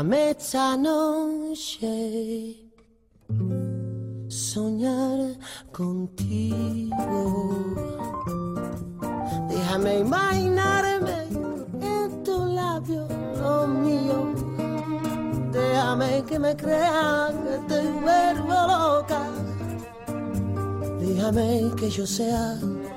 Déjame esta noche soñar contigo. Déjame imaginarme en tu labio, lo mío. Déjame que me crea que te vuelvo loca. Déjame que yo sea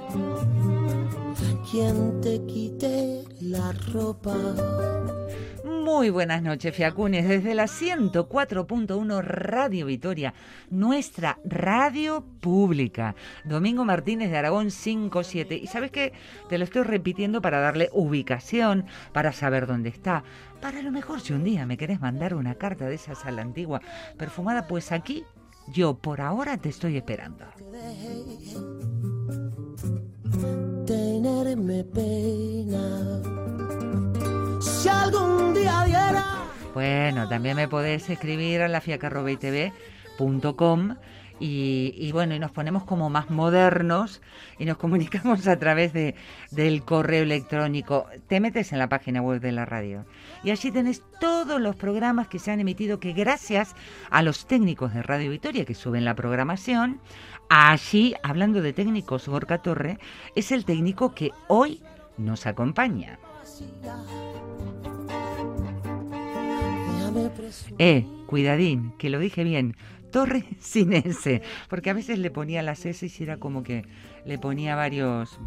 quien te quite la ropa. Muy buenas noches, Fiacunes, desde la 104.1 Radio Vitoria, nuestra radio pública. Domingo Martínez de Aragón 57. Y ¿sabes qué? Te lo estoy repitiendo para darle ubicación, para saber dónde está. Para lo mejor si un día me querés mandar una carta de esas a la antigua perfumada, pues aquí yo por ahora te estoy esperando. Tenerme pena. Si algún día diera... Bueno, también me podés escribir a lafiaca@itv.com y bueno, y nos ponemos como más modernos y nos comunicamos a través del correo electrónico. Te metes en la página web de la radio y allí tenés todos los programas que se han emitido, que gracias a los técnicos de Radio Vitoria que suben la programación, allí, hablando de técnicos, Gorka Torre es el técnico que hoy nos acompaña. Cuidadín, que lo dije bien, Torre sin S, porque a veces le ponía las S y era como que le ponía varios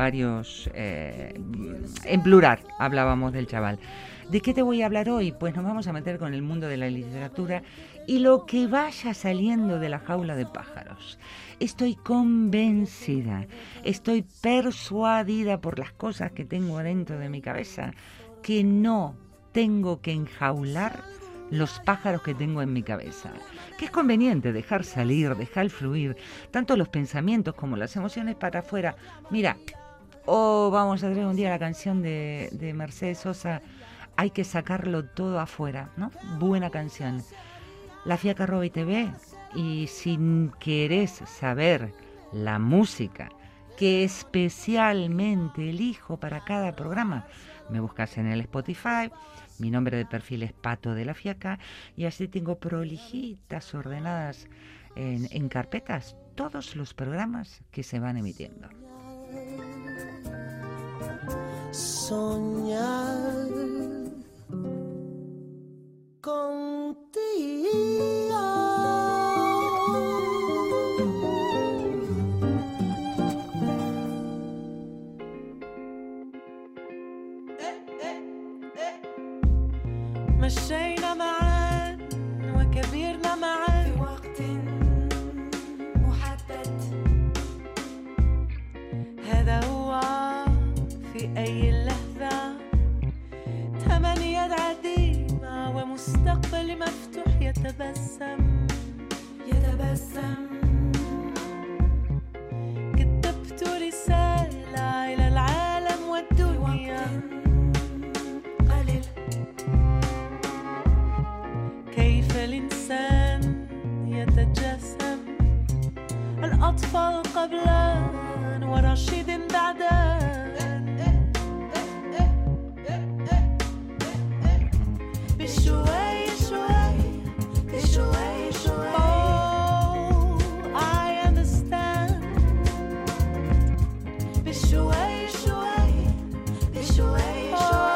en plural, hablábamos del chaval. ¿De qué te voy a hablar hoy? Pues nos vamos a meter con el mundo de la literatura y lo que vaya saliendo de la jaula de pájaros. Estoy convencida, estoy persuadida por las cosas que tengo dentro de mi cabeza, que no tengo que enjaular los pájaros que tengo en mi cabeza, que es conveniente dejar salir, dejar fluir tanto los pensamientos como las emociones para afuera. Mira, vamos a traer un día la canción de Mercedes Sosa, hay que sacarlo todo afuera, ¿no? Buena canción. lafiaca@itv, y si querés saber la música que especialmente elijo para cada programa, me buscas en el Spotify. Mi nombre de perfil es Pato de la Fiaca y así tengo prolijitas ordenadas en carpetas todos los programas que se van emitiendo. Soñar contigo. مشينا معا وكبرنا معا في وقت محدد. هذا هو في أي لحظة تمنيات عديمة ومستقبل مفتوح يتبسم. كتبت رسالة إلى العالم والدنيا كيف الإنسان يتجسم. الأطفال قبلا ورشيد بعدا. بشوي شوي بشوي شوي. Oh, I understand. بشوي شوي بشوي شوي.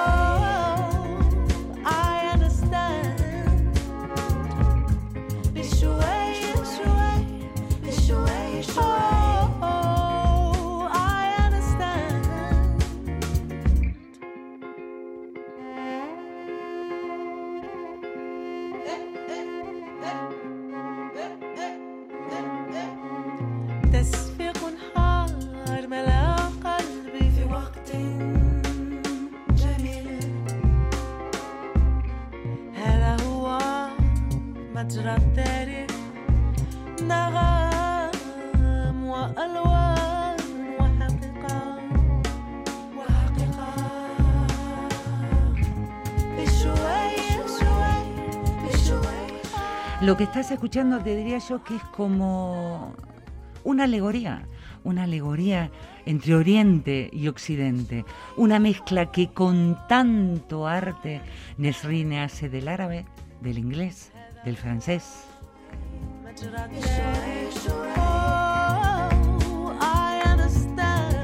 مجرى التاريخ نغم وألوان وحقيقة بشوي شوي بشوي. Lo que estás escuchando te diría yo que es como una alegoría entre Oriente y Occidente, una mezcla que con tanto arte Nesrine hace del árabe del inglés, del francés. Oh, I understand.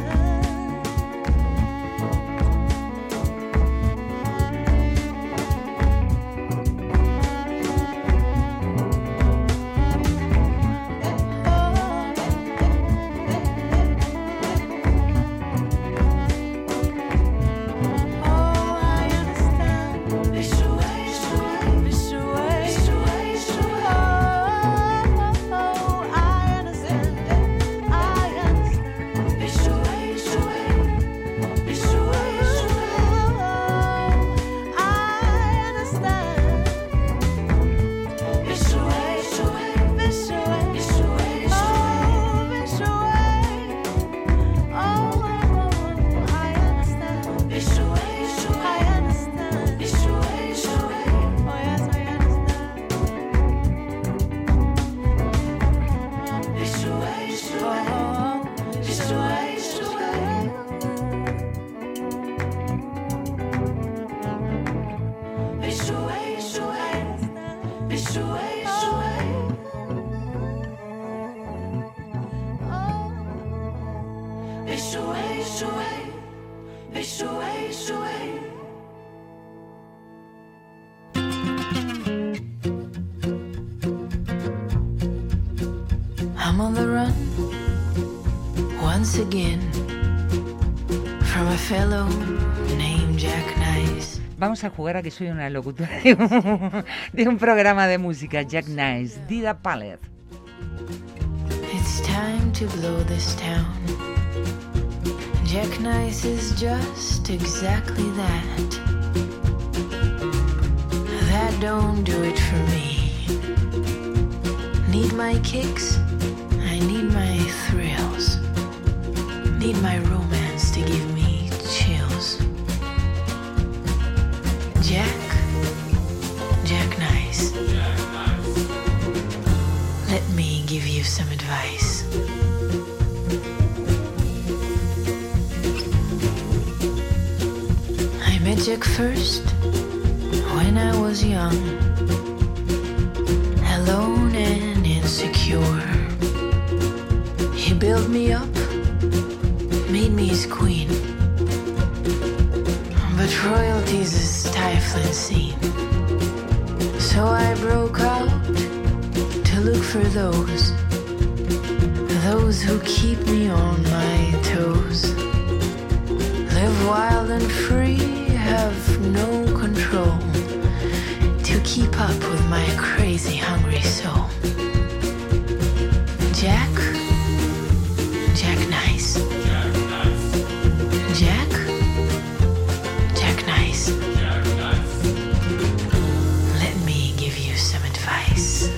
I'm on the run once again from a fellow named Jack Nice. Vamos a jugar a que soy una locutora de un programa de música, Jack Nice, Dida Pallet. It's time to blow this town. Jack Nice is just exactly that. That don't do it for me. Need my kicks, I need my thrills. Need my romance to give me chills. Jack Nice. Let me give you some advice. I met Jack first when I was young, alone and insecure. He built me up, made me his queen. But royalty's a stifling scene. So I broke out to look for those who keep me on my toes. Live wild and free, have no control, to keep up with my crazy hungry soul. Jack Nice. Jack Nice. Let me give you some advice.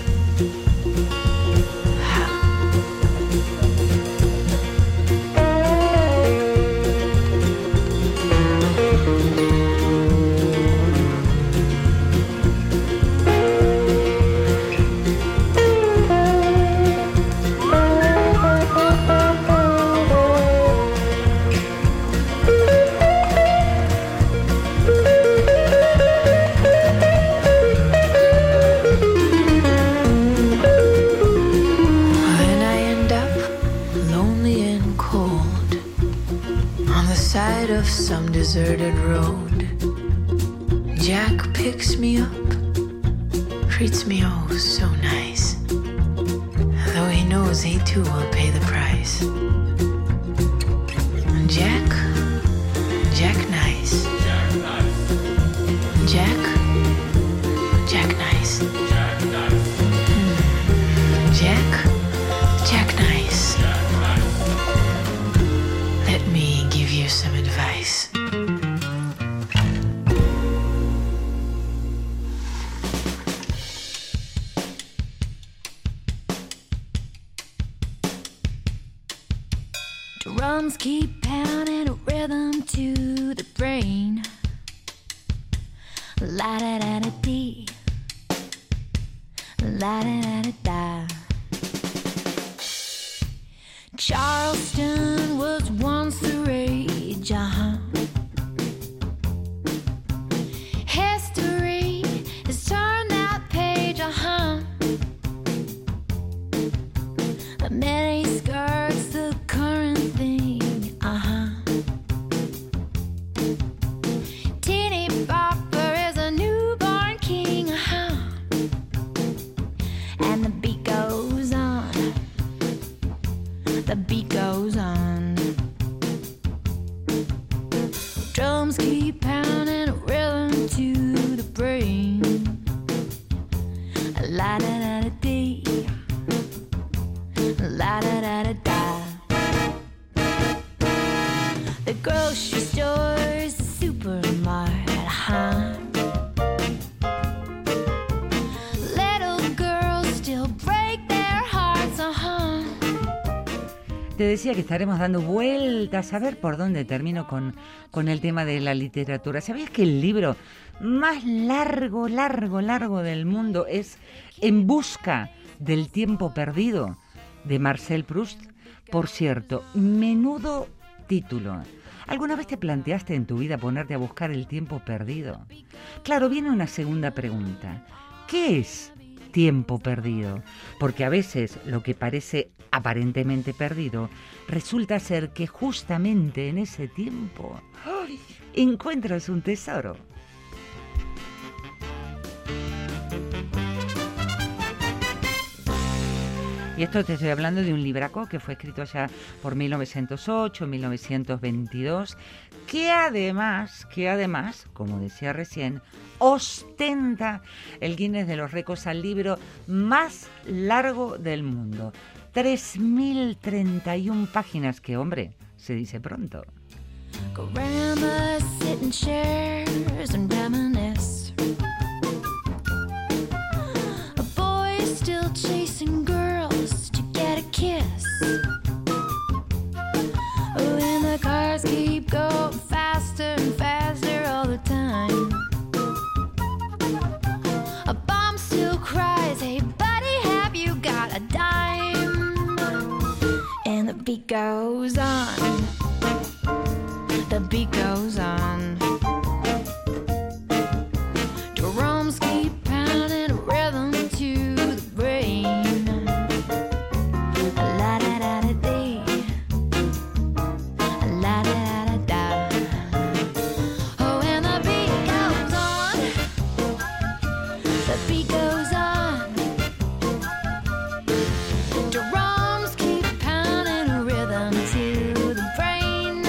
Some deserted road. Jack picks me up, treats me oh so nice, though he knows he too will pay the price. Jack Nice. Jack Nice. Jack Nice. Let me give you some advice. Drums keep pounding a rhythm to the brain. La da da da dee, la da da da da. Charleston was once the rage, History has turned that goes on. Drums keep pounding a rhythm to the brain. La da da da dee, la da da da da. The grocery store's the supermarket, huh? Little girls still break their hearts, uh-huh. Te decía que estaremos dando vueltas a ver por dónde termino con el tema de la literatura. ¿Sabías que el libro más largo del mundo es En busca del tiempo perdido, de Marcel Proust? Por cierto, menudo título. ¿Alguna vez te planteaste en tu vida ponerte a buscar el tiempo perdido? Claro, viene una segunda pregunta. ¿Qué es tiempo perdido? Porque a veces lo que parece aparentemente perdido resulta ser que justamente en ese tiempo encuentras un tesoro. Y esto te estoy hablando de un libraco que fue escrito allá por 1908, 1922, que además, como decía recién, ostenta el Guinness de los récords al libro más largo del mundo. 3.031 páginas, que hombre, se dice pronto. Grandma sit in chairs and reminisce. A boy still chasing girls to get a kiss. When the cars keep going faster and faster all the time. A bomb still cries, hey buddy, have you got a dime? And the beat goes on. The beat goes on. Drums keep pounding a rhythm to the brain. La da da da dee, la da da da da. Oh, and the beat goes on. The beat goes on. Drums keep pounding a rhythm to the brain.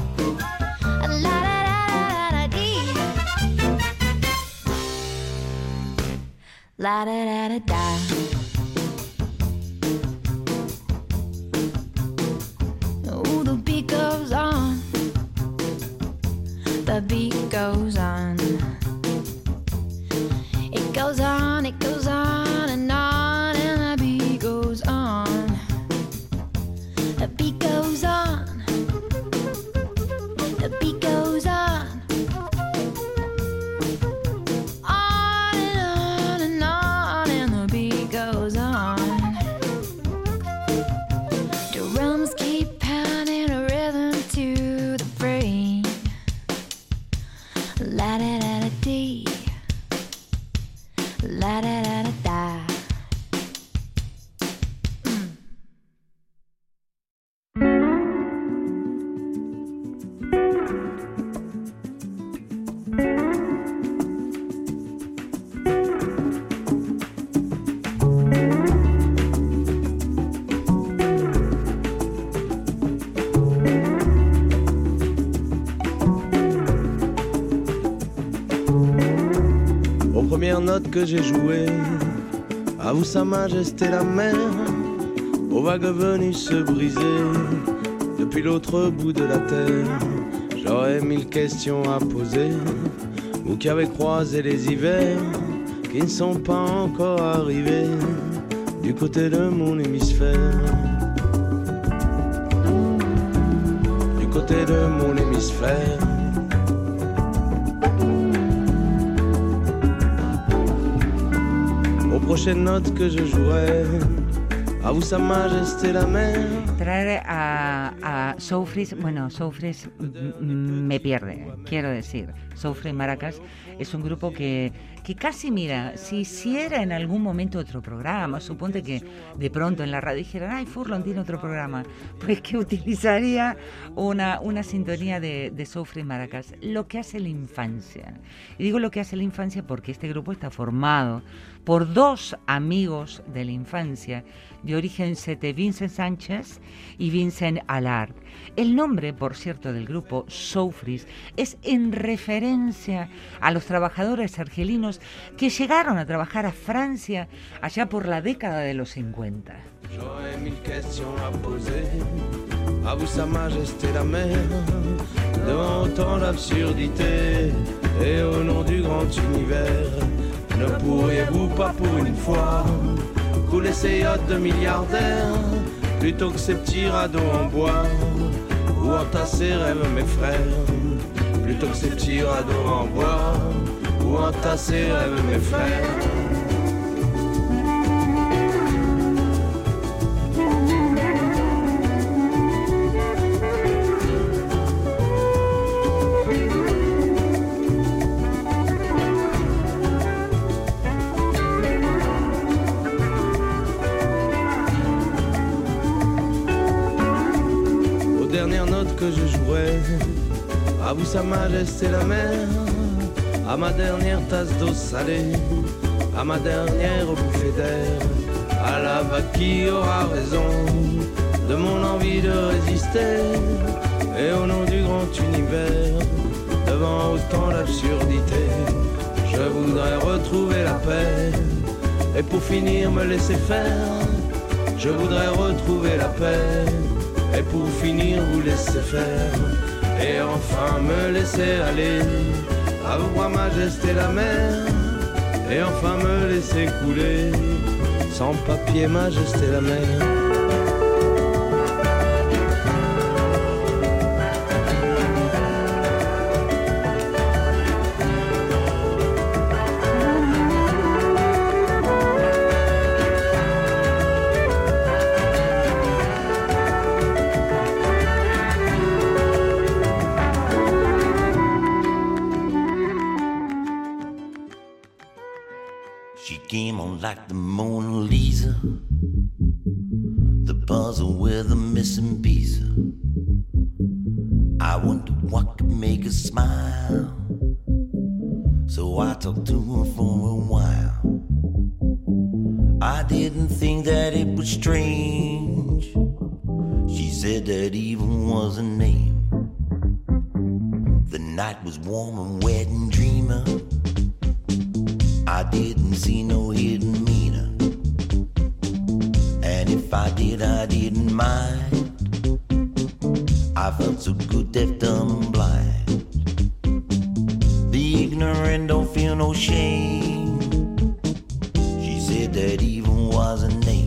La da da da da. Oh, the beat goes on. The beat goes on. It goes on, it goes on and on, and the beat goes on. The beat goes on. The beat goes on. La da da da dee, la da da da da. Première note que j'ai jouée, à vous sa majesté la mer, aux vagues venues se briser depuis l'autre bout de la terre. J'aurais 1000 questions à poser, vous qui avez croisé les hivers qui ne sont pas encore arrivés du côté de mon hémisphère. Du côté de mon hémisphère. Prochaine note que je jouerai, a vous sa majesté la mer. Traer a Soufris, bueno, Soufris me pierde, quiero decir. Soufris Maracas es un grupo que casi, mira, si hiciera en algún momento otro programa, suponte que de pronto en la radio dijeran, ay, Furlon tiene otro programa, pues que utilizaría una sintonía de Soufris Maracas, lo que hace la infancia. Y digo lo que hace la infancia porque este grupo está formado por dos amigos de la infancia de origen sete, Vincent Sánchez y Vincent Allard. El nombre, por cierto, del grupo Soufris es en referencia a los trabajadores argelinos que llegaron a trabajar a Francia allá por la década de los 50. J'aurais mille questions à poser à vous, Sa Majesté la mer, devant autant d'absurdité et au nom du grand univers. Ne pourriez-vous pas pour une fois couler ces yachts de milliardaires plutôt que ces petits radeaux en bois ou entasser rêves mes frères, plutôt que ces petits radeaux en bois ou entasser rêves mes frères. Que je jouais à vous, Sa Majesté la mer, à ma dernière tasse d'eau salée, à ma dernière bouffée d'air, à la vague qui aura raison de mon envie de résister, et au nom du grand univers, devant autant d'absurdité, je voudrais retrouver la paix, et pour finir me laisser faire, je voudrais retrouver la paix. Et pour finir vous laisser faire, et enfin me laisser aller, à vous, Majesté la mer, et enfin me laisser couler, sans papier, Majesté la mer. Like the Mona Lisa, the puzzle with the missing piece. I wonder what could make her smile, so I talked to her for a while. I didn't think that it was strange. She said that even was a name. The night was warm and wet and dreamer. I didn't see no hidden meaning, and if I did, I didn't mind. I felt so good, deaf, dumb, and blind. The ignorant don't feel no shame. She said that even was a name.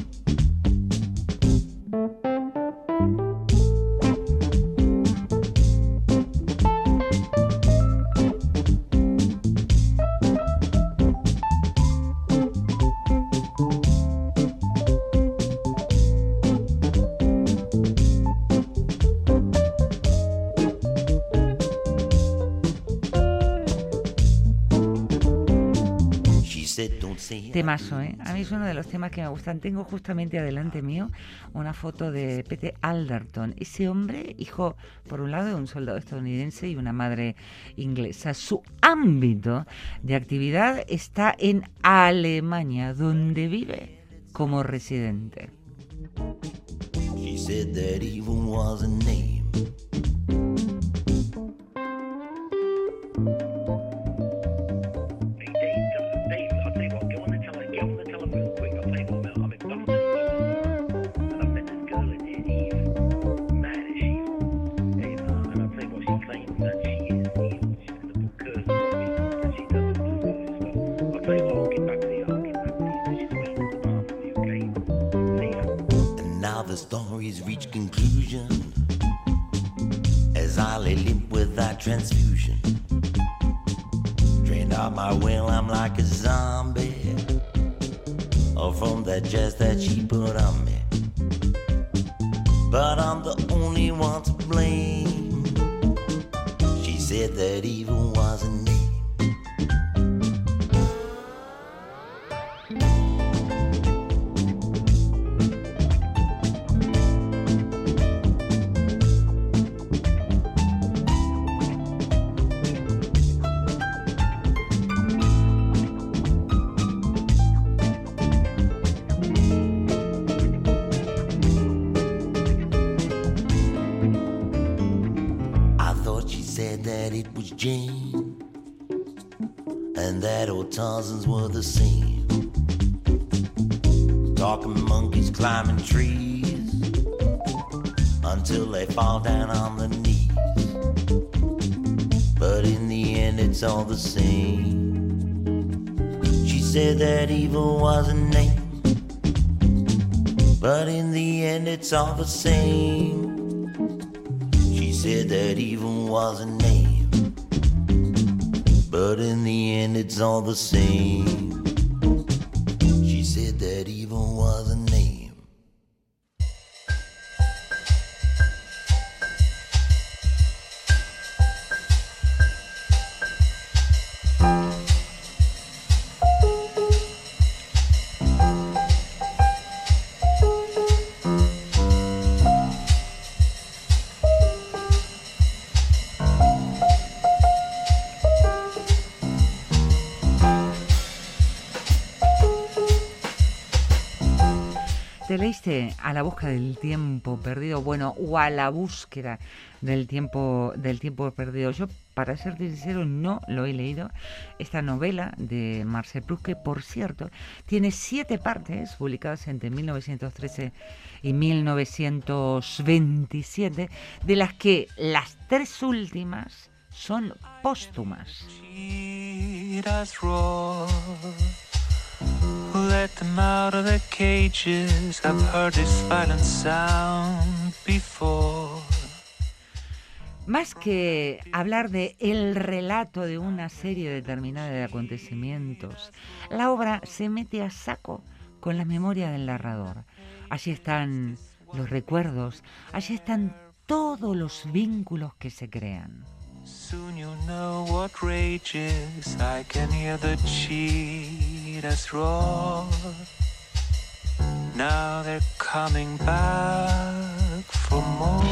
Temazo, ¿eh? A mí es uno de los temas que me gustan. Tengo justamente adelante mío una foto de P.T. Alderton. Ese hombre, hijo, por un lado, de un soldado estadounidense y una madre inglesa. Su ámbito de actividad está en Alemania, donde vive como residente. She said that even was a name. The stories reach conclusion as I lay limp without transfusion. Drained out my well, I'm like a zombie, or from that jazz that she put on me. But I'm the only one to blame. She said that even was a name. said that it was Jane, and that old Tarzans were the same. Talking monkeys climbing trees until they fall down on their knees. But in the end it's all the same. She said that evil was a name, but in the end it's all the same. She said that evil was a name, but in the end it's all the same. She said that evil was a name. ¿Te leíste A la busca del tiempo perdido? Bueno, o A la búsqueda del tiempo perdido. Yo, para ser sincero, no lo he leído. Esta novela de Marcel Proust, que por cierto tiene 7 partes publicadas entre 1913 y 1927, de las que las 3 últimas son póstumas. Let them out of their cages. I've heard this violent sound before. Más que hablar de el relato de una serie determinada de acontecimientos, la obra se mete a saco con la memoria del narrador. Allí están los recuerdos, allí están todos los vínculos que se crean. Soon you'll know what rages. I can hear the cheetahs roar. Now they're coming back for more.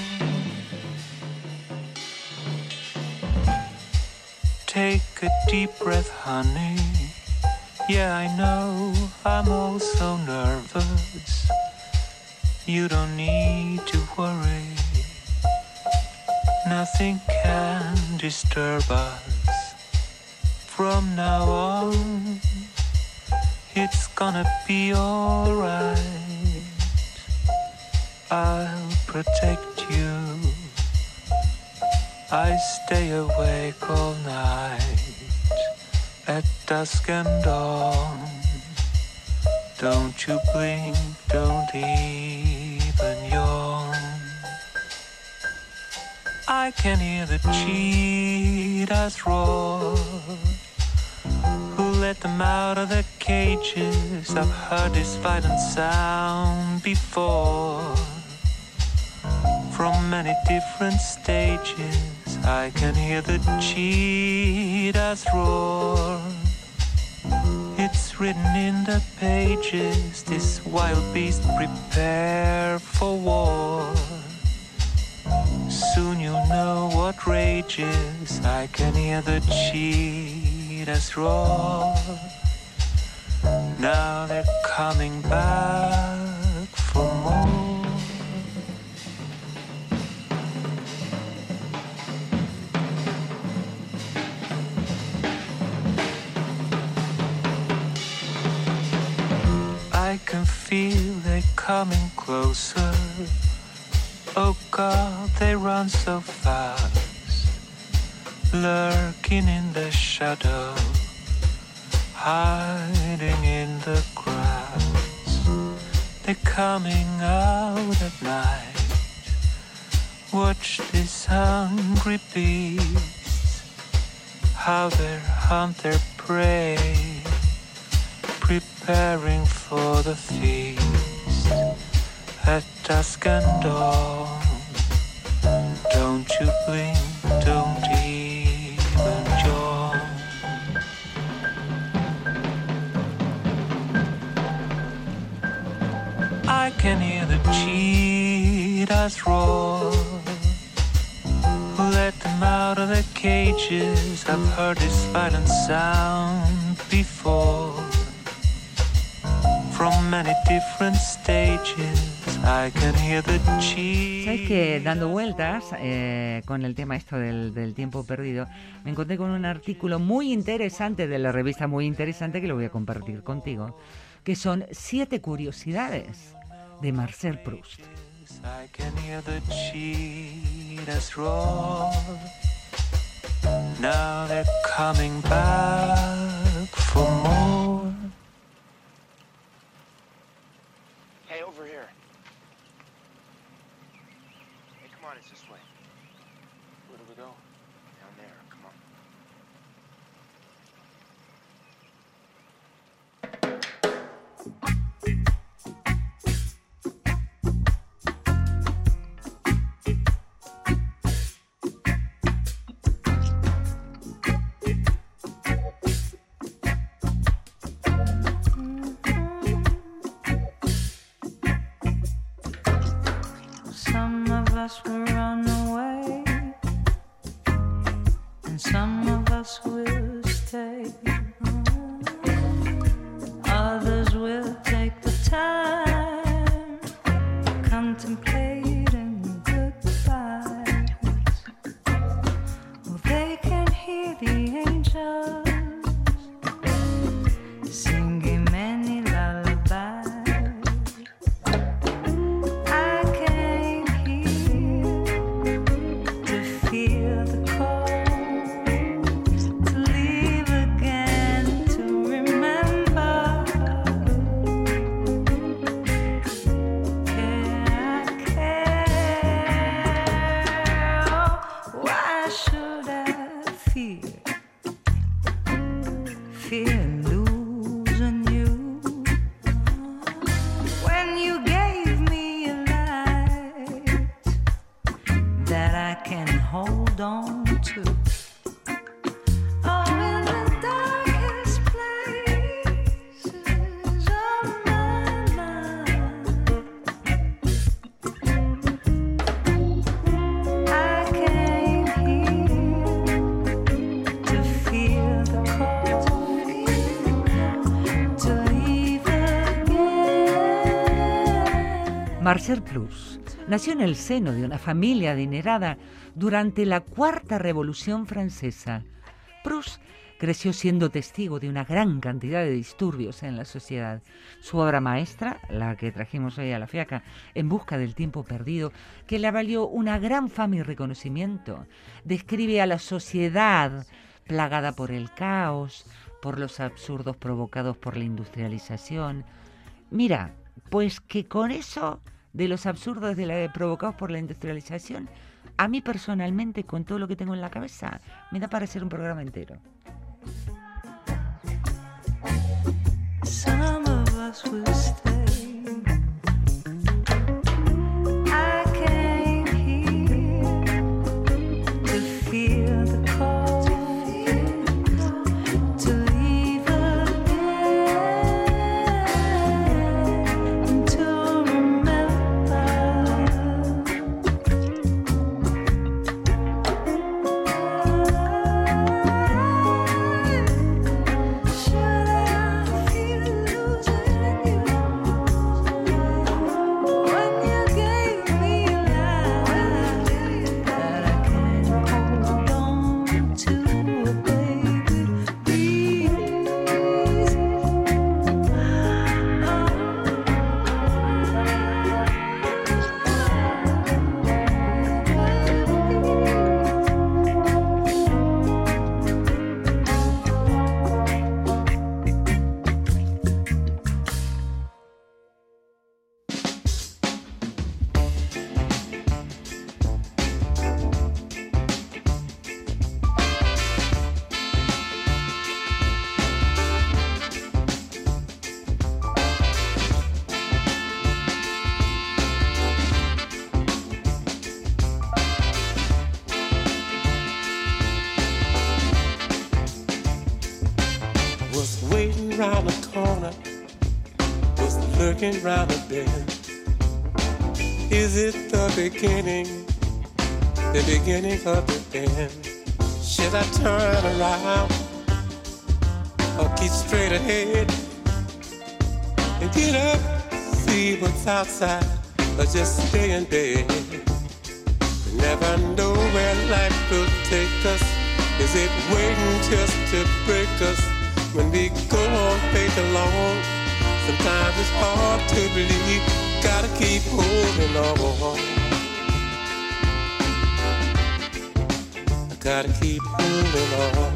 Take a deep breath, honey. Yeah, I know I'm also nervous. You don't need to worry. Nothing can disturb us. From now on, it's gonna be alright. I'll protect you. I stay awake all night at dusk and dawn. Don't you blink, don't even yawn. I can hear the cheetahs roar. Who let them out of their cages? I've heard this violent sound before. From many different stages, I can hear the cheetahs roar. It's written in the pages, this wild beast prepare for war. Soon you'll know what rages. I can hear the cheetahs roar. Now they're coming back for more. I can feel they coming closer. Oh God, they run so fast, lurking in the shadow, hiding in the grass. They're coming out at night. Watch these hungry beasts, how they hunt their prey, preparing for the feast. At dusk and dawn, don't you blink, don't even yawn. I can hear the cheetahs roar. Let them out of their cages. I've heard this violent sound before. From many different stages, I can hear the cheese. Sabes que dando vueltas con el tema esto del tiempo perdido, me encontré con un artículo muy interesante de la revista Muy Interesante que lo voy a compartir contigo, que son 7 curiosidades de Marcel Proust. I can hear the cheetahs roar. Now they're coming back for more. Hey, over here. Hey, come on, it's this way. Where do we go? Down there, come on. Some of us will run away, and some of us will stay. Others will take the time contemplating goodbyes. Well, they can hear the angels singing many lullabies. I came here to feel the cold, to leave again, to remember. Care, why should I fear losing you? When you gave me a light that I can hold on to. Oh, in the darkest places of my mind, I came here to feel the cold, to leave again. Marcel Proust nació en el seno de una familia adinerada durante la Cuarta Revolución Francesa. Proust creció siendo testigo de una gran cantidad de disturbios en la sociedad. Su obra maestra, la que trajimos hoy a la fiaca, En busca del tiempo perdido, que le valió una gran fama y reconocimiento, describe a la sociedad plagada por el caos, por los absurdos provocados por la industrialización. Mira, pues que con eso de los absurdos provocados por la industrialización, a mí personalmente, con todo lo que tengo en la cabeza, me da para hacer un programa entero. Some of us will stay. I came here to feel the cold, to leave again, to remember. Should I feel losing you when you gave me a light that I can't hold on to, baby? Please, Was waiting round the corner, was lurking round the bend. Is it the beginning of the end? Should I turn around or keep straight ahead and get up, see what's outside? or just stay in bed. We never know where life will take us. Is it waiting just to break us? When we go on faith alone, sometimes it's hard to believe. Gotta keep holding on. I gotta keep holding on.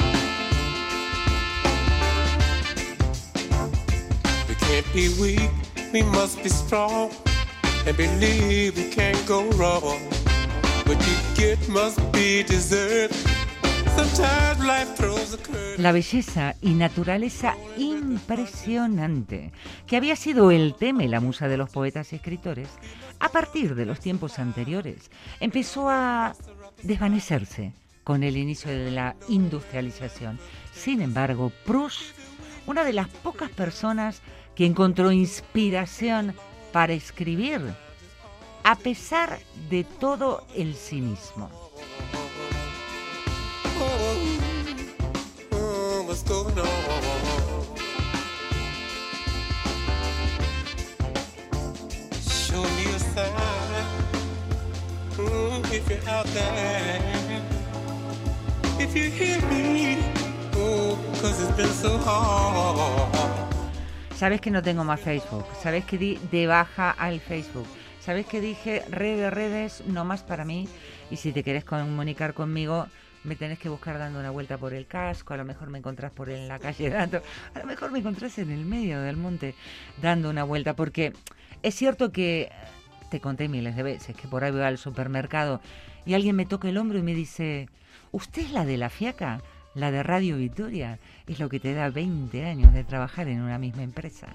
We can't be weak, we must be strong, and believe we can't go wrong. What you get must be deserved. Sometimes life throws a curve. La belleza y naturaleza impresionante, que había sido el tema y la musa de los poetas y escritores, a partir de los tiempos anteriores, empezó a desvanecerse con el inicio de la industrialización. Sin embargo, Proust, una de las pocas personas que encontró inspiración para escribir, a pesar de todo el cinismo. What's going on? Show me a sign if you're out there, if you hear me, oh, 'cause it's been so hard. Sabes que no tengo más Facebook, sabes que di de baja al Facebook, sabes que dije redes, no más para mí, y si te quieres comunicar conmigo, me tenés que buscar dando una vuelta por el casco, a lo mejor me encontrás por en la calle Dato, a lo mejor me encontrás en el medio del monte dando una vuelta, porque es cierto que te conté miles de veces que por ahí voy al supermercado y alguien me toca el hombro y me dice, ¿usted es la de la Fiaca? La de Radio Victoria, es lo que te da 20 años de trabajar en una misma empresa.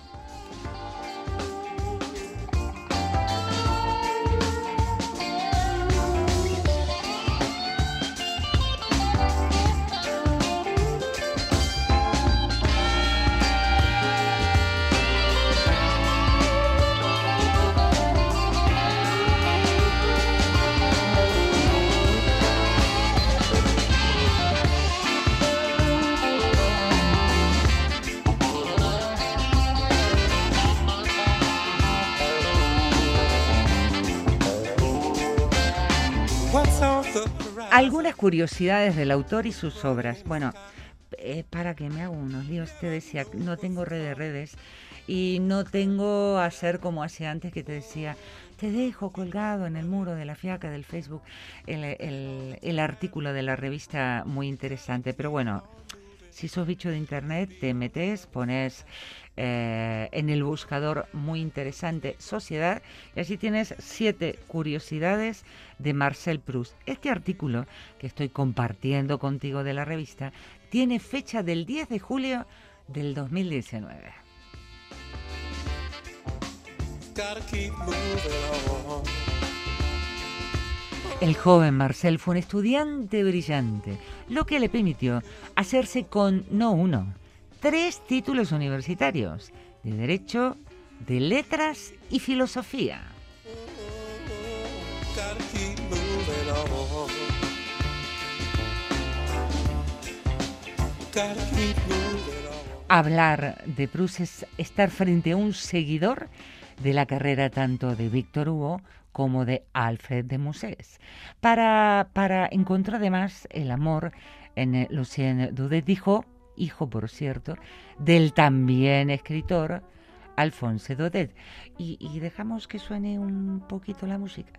Algunas curiosidades del autor y sus obras. Bueno, para que me hago unos líos, te decía, no tengo redes y no tengo hacer como hacía antes, que te decía, te dejo colgado en el muro de la Fiaca del Facebook el artículo de la revista, muy interesante. Pero bueno, si sos bicho de internet, te metes, pones en el buscador muy interesante Sociedad y así tienes 7 curiosidades de Marcel Proust. Este artículo que estoy compartiendo contigo de la revista tiene fecha del 10 de julio del 2019. El joven Marcel fue un estudiante brillante, lo que le permitió hacerse con no uno, 3 títulos universitarios de Derecho, de Letras y Filosofía. Hablar de Proust es estar frente a un seguidor de la carrera tanto de Víctor Hugo como de Alfred de Musset, para encontrar además el amor en Lucien Daudet, hijo, por cierto, del también escritor Alphonse Daudet. Y dejamos que suene un poquito la música.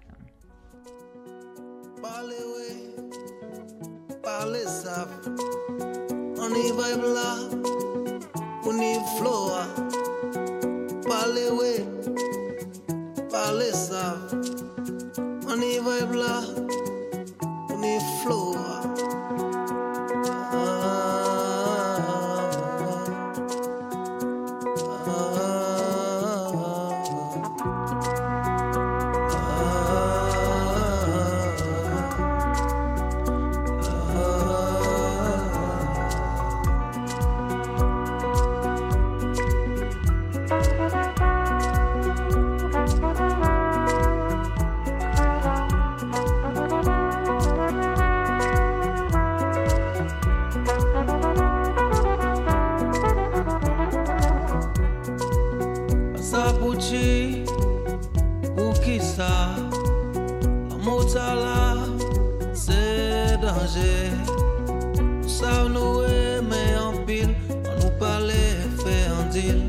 route là, c'est danger. Nous savons nous aimer en pile, on nous parlait, fait un deal.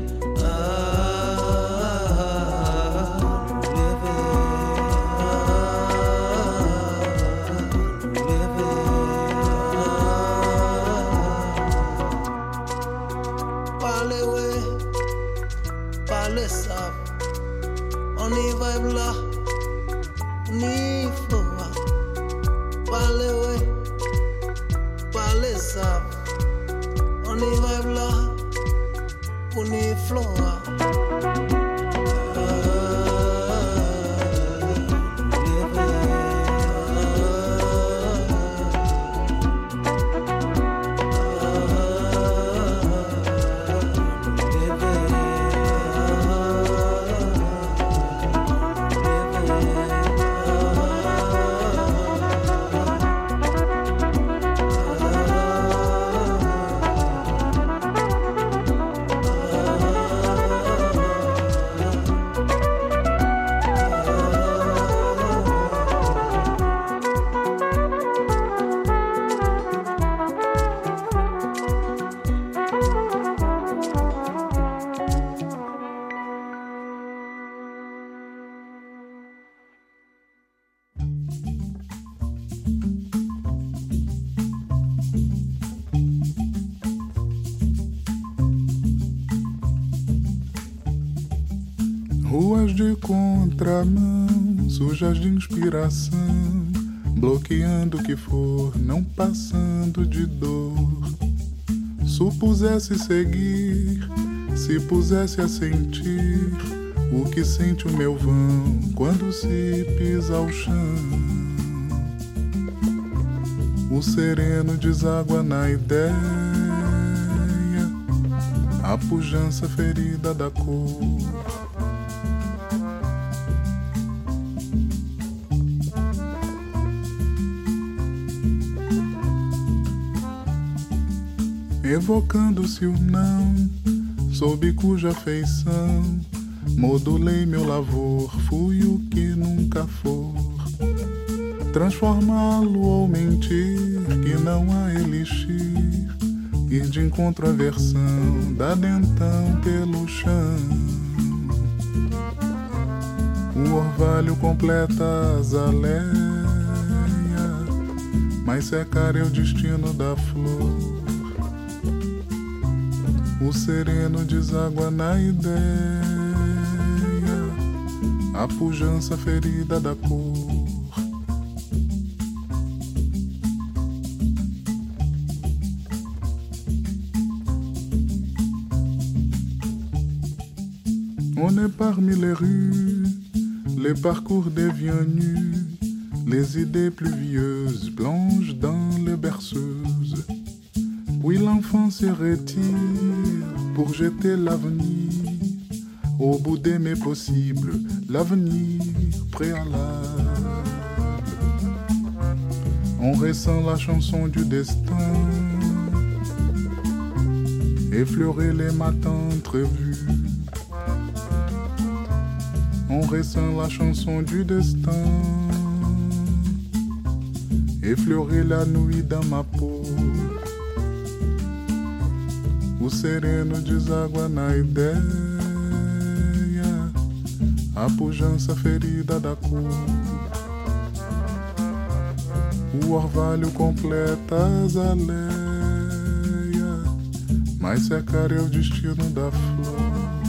On y va là, on y floa. Parlez ouais, parlez ça. On y va là, on y floa. Ruas de contramão, sujas de inspiração, bloqueando o que for, não passando de dor. Supusesse seguir, se pusesse a sentir o que sente o meu vão quando se pisa ao chão. O sereno deságua na ideia, a pujança ferida da cor. Evocando-se o não, sob cuja feição modulei meu lavor, fui o que nunca for. Transformá-lo ou mentir, que não há elixir, ir de encontro à versão, dada então pelo chão. O orvalho completa a azaleia, mas secar é o destino da flor. O sereno deságua na ideia, a pujança ferida da cor. On est parmi les rues, les parcours devient nus, les idées pluvieuses plongent dans les berceuses. Puis l'enfant se retire pour jeter l'avenir au bout des mes possibles, l'avenir préalable. On ressent la chanson du destin, effleurer les matins entrevus. On ressent la chanson du destin, effleurer la nuit dans ma peau. O sereno deságua na ideia, a pujança ferida da cor. O orvalho completa a azaleia, mas secar é o destino da flor.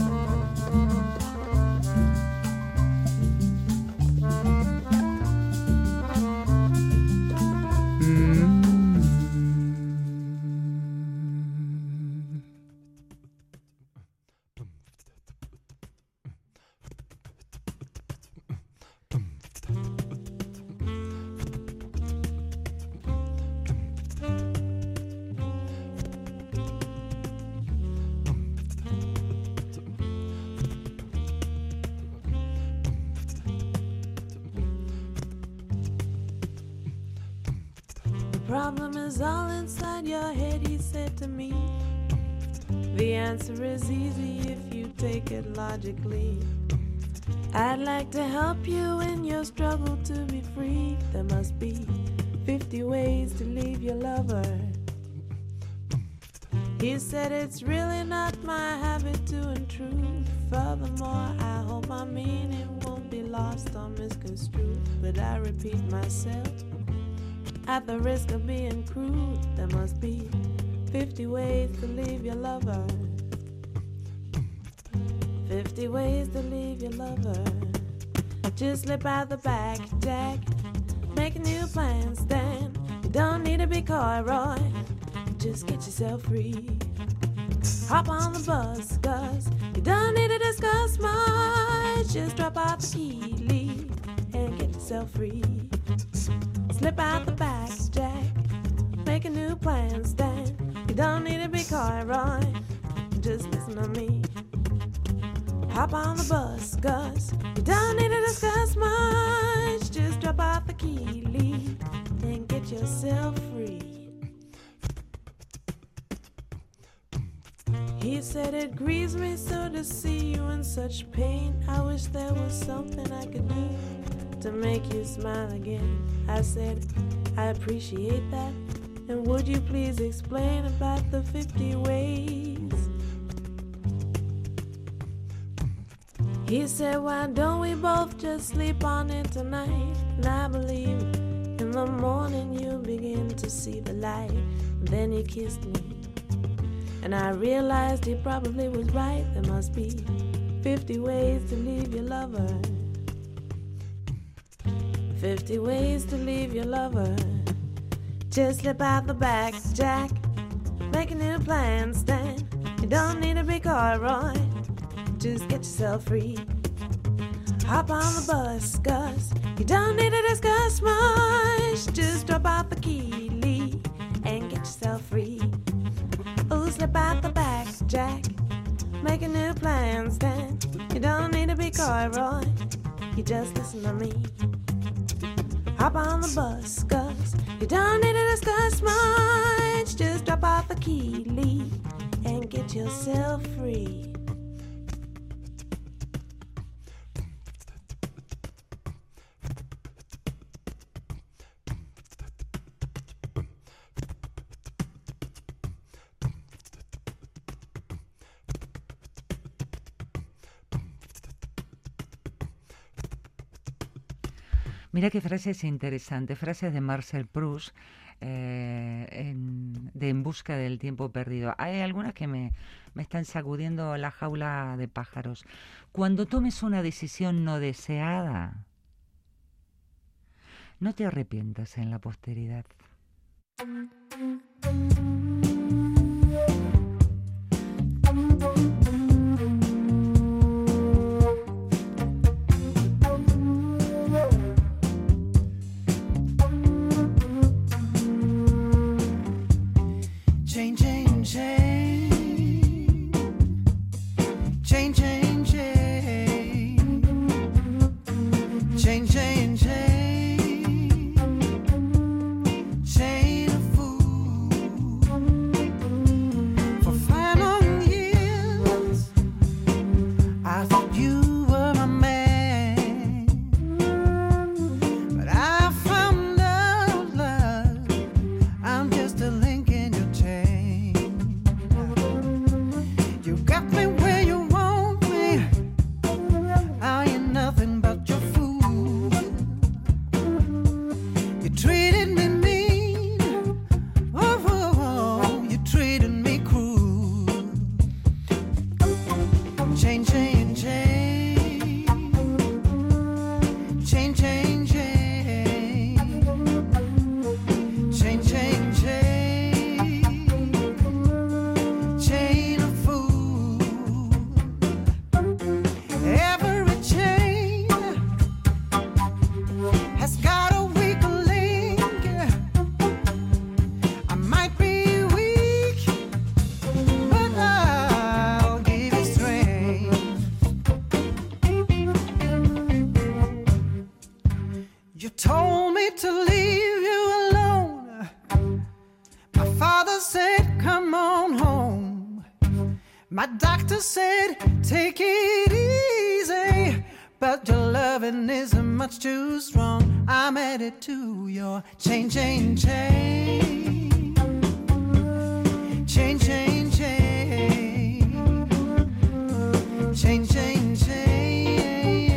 Problem is all inside your head, he said to me. The answer is easy if you take it logically. I'd like to help you in your struggle to be free. There must be 50 ways to leave your lover. He said it's really not my habit to intrude. Furthermore, I hope my meaning won't be lost or misconstrued. But I repeat myself, at the risk of being crude, there must be 50 ways to leave your lover. 50 ways to leave your lover. Just slip out the back, Jack. Make a new plan, Stan. You don't need to be coy, Roy. Just get yourself free. Hop on the bus, Gus. You don't need to discuss much. Just drop out the key, leave, and get yourself free. Slip out the back, Jack. Make a new plan, Stan. You don't need to be coy, Roy. Just listen to me. Hop on the bus, Gus. You don't need to discuss much. Just drop out the key, leave, and get yourself free. He said it grieves me so to see you in such pain. I wish there was something I could do to make you smile again. I said, I appreciate that. And would you please explain about the 50 ways? He said, why don't we both just sleep on it tonight? And I believe in the morning you'll begin to see the light. And then he kissed me, and I realized he probably was right. There must be 50 ways to leave your lover. 50 ways to leave your lover. Just slip out the back, Jack. Make a new plan, Stan. You don't need to be coy, Roy. Just get yourself free. Hop on the bus, Gus. You don't need to discuss much. Just drop out the key, leave, and get yourself free. Oh, slip out the back, Jack. Make a new plan, Stan. You don't need to be coy, Roy. You just listen to me. Hop on the bus, Gus. You don't need to discuss much. Just drop out the key, leave, and get yourself free. Mira qué frases interesantes, frases de Marcel Proust, de En busca del tiempo perdido. Hay algunas que me están sacudiendo la jaula de pájaros. Cuando tomes una decisión no deseada, no te arrepientas en la posteridad. but your loving is much too strong. I'm headed to your chain, chain, chain. Chain, chain, chain. Chain, chain, chain.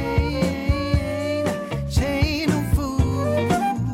Chain of food.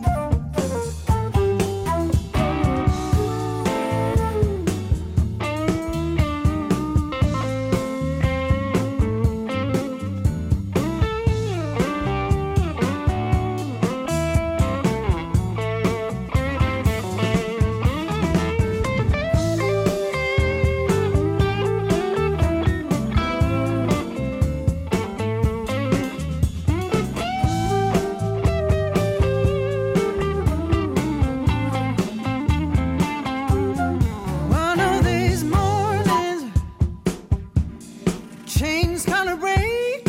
One of these mornings, chains gonna break.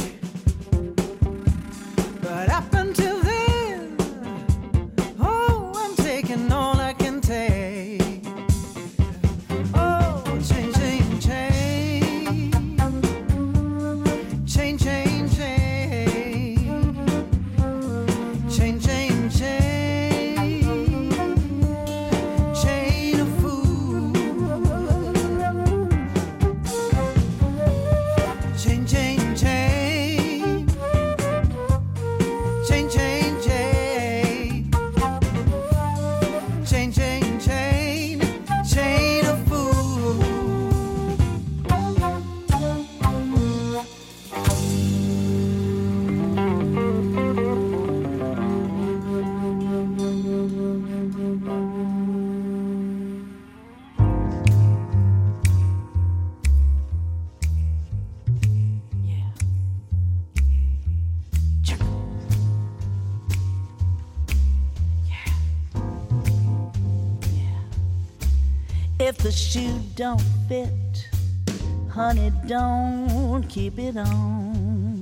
But up until then, oh, I'm taking all I can take. Oh, chain, chain, chain. Chain, chain, chain. Chain, chain, chain. Chain of food. Chain, chain, chain. Chain, chain, chain. Chain, chain, chain. Chain of food. If the shoe don't fit, honey, don't keep it on.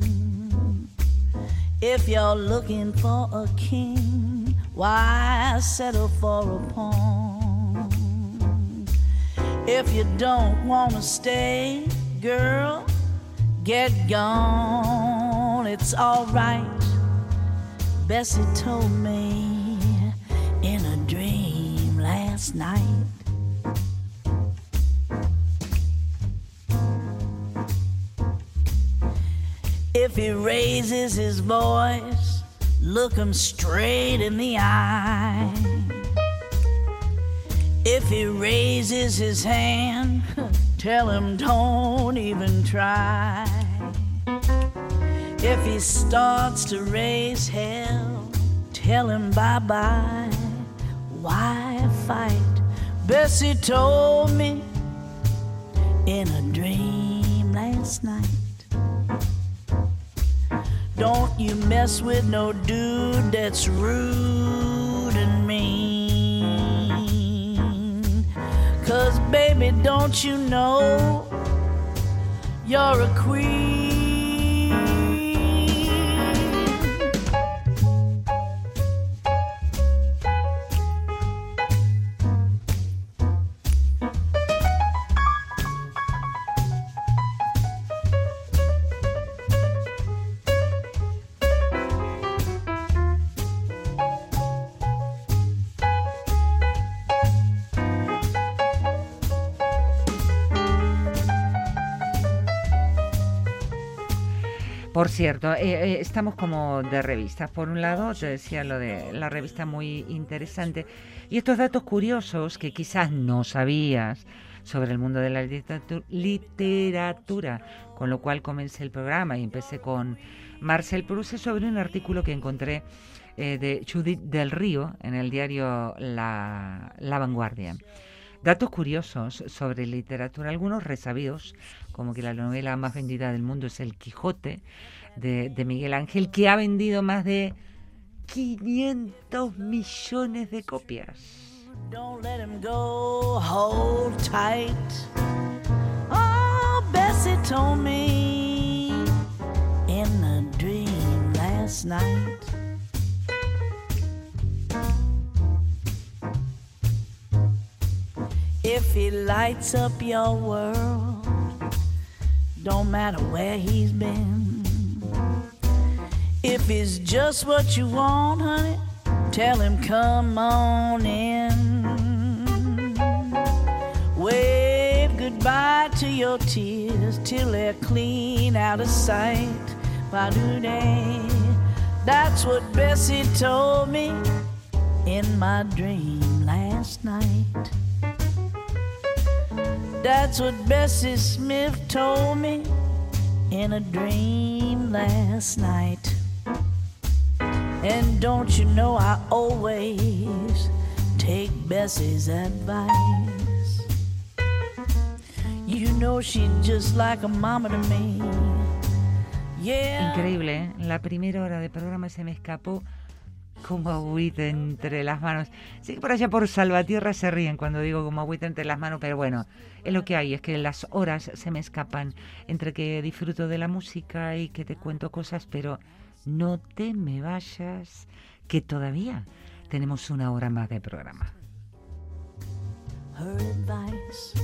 If you're looking for a king, why settle for a pawn? If you don't wanna stay, girl, get gone. It's alright, Bessie told me in a dream last night. If he raises his voice, look him straight in the eye. If he raises his hand, tell him don't even try. If he starts to raise hell, tell him bye-bye. Why fight? Bessie told me in a dream last night. Don't you mess with no dude that's rude and mean. 'Cause baby, don't you know you're a queen? Por cierto, estamos como de revistas. Por un lado, te decía lo de la revista muy interesante. Y estos datos curiosos que quizás no sabías sobre el mundo de la literatura, con lo cual comencé el programa y empecé con Marcel Proust, sobre un artículo que encontré de Judith del Río en el diario La Vanguardia. Datos curiosos sobre literatura, algunos resabidos, como que la novela más vendida del mundo es El Quijote, de Miguel Ángel, que ha vendido más de 500 millones de copias. Don't let him go, hold tight. Oh, Bessie told me in a dream last night. If he lights up your world, don't matter where he's been. If it's just what you want, honey, tell him come on in. Wave goodbye to your tears till they're clean out of sight. Ba-doo-day. That's what Bessie told me in my dream last night. That's what Bessie Smith told me in a dream last night. And don't you know I always take Bessie's advice. You know she's just like a mama to me. Yeah. Increíble, ¿eh? La primera hora de programa se me escapó como agüita entre las manos. Sí que por allá por Salvatierra se ríen cuando digo como agüita entre las manos, pero bueno, es lo que hay, es que las horas se me escapan entre que disfruto de la música y que te cuento cosas, pero no te me vayas, que todavía tenemos una hora más de programa. Her advice.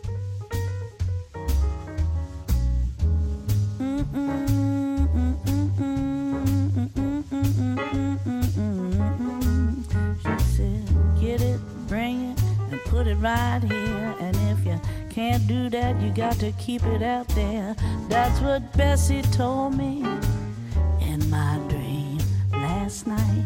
She said, get it, bring it, and put it right here. And if you can't do that, you got to keep it out there. That's what Bessie told me in my dream last night.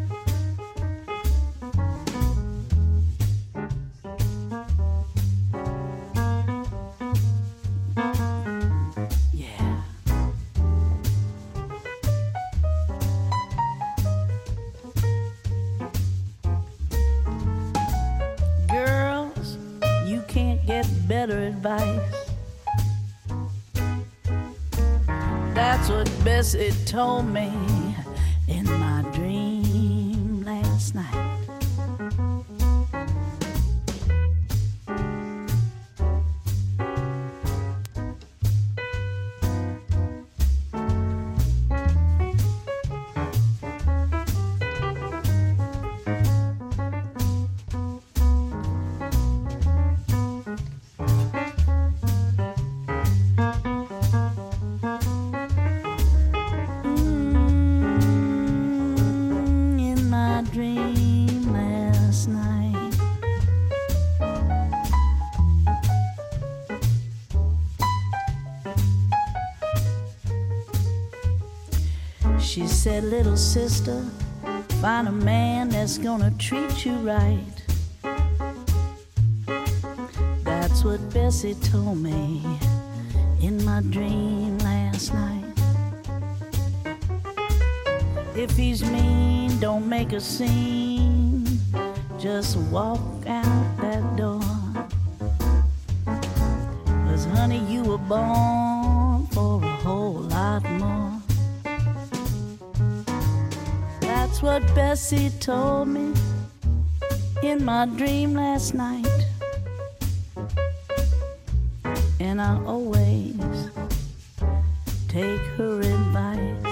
Better advice. That's what Bessie told me in my dream last night. She said, little sister, find a man that's gonna treat you right. That's what Bessie told me in my dream last night. If he's mean, don't make a scene. Just walk out that door. 'Cause honey, you were born for a whole lot more. That's what Bessie told me in my dream last night. And I always take her advice.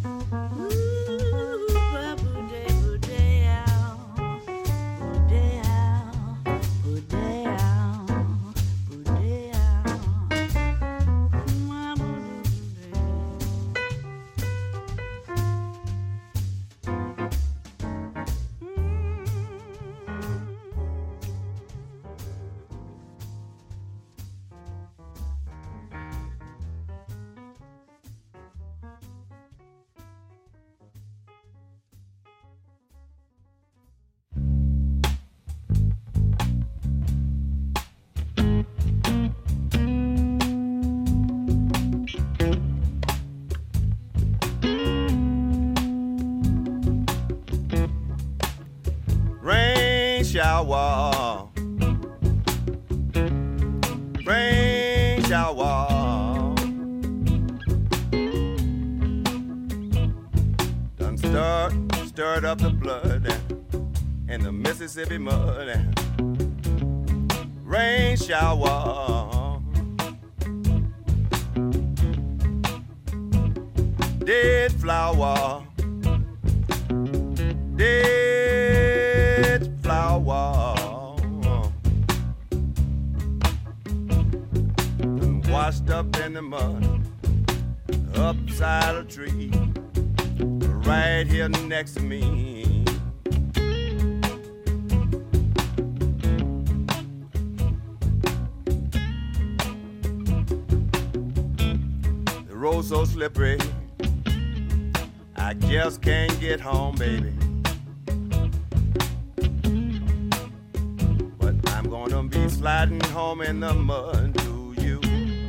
Shower, rain shower, done stirred up the blood in the Mississippi mud. Rain shower, dead flower, dead flower, washed up in the mud, upside a tree. right here next to me. The road's so slippery, I just can't get home, baby. But I'm gonna be sliding home in the mud to you.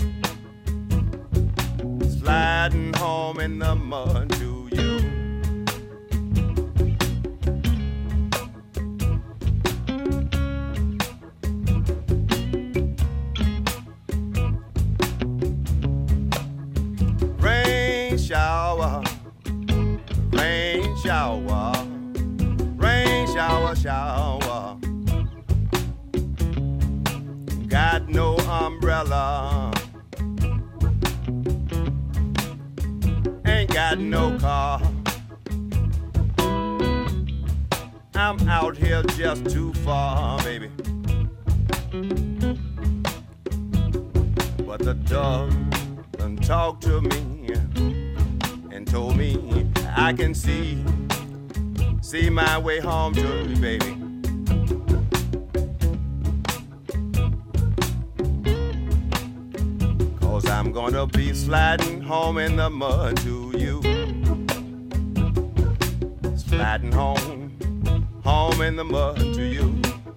Sliding home in the mud to you. Rain shower, rain shower, rain shower, shower. Got no umbrella, ain't got no car. I'm out here just too far, baby. But the dog done talked to me and told me I can see my way home to you, baby. Cause I'm gonna be sliding home in the mud to you. Sliding home in the mud to you.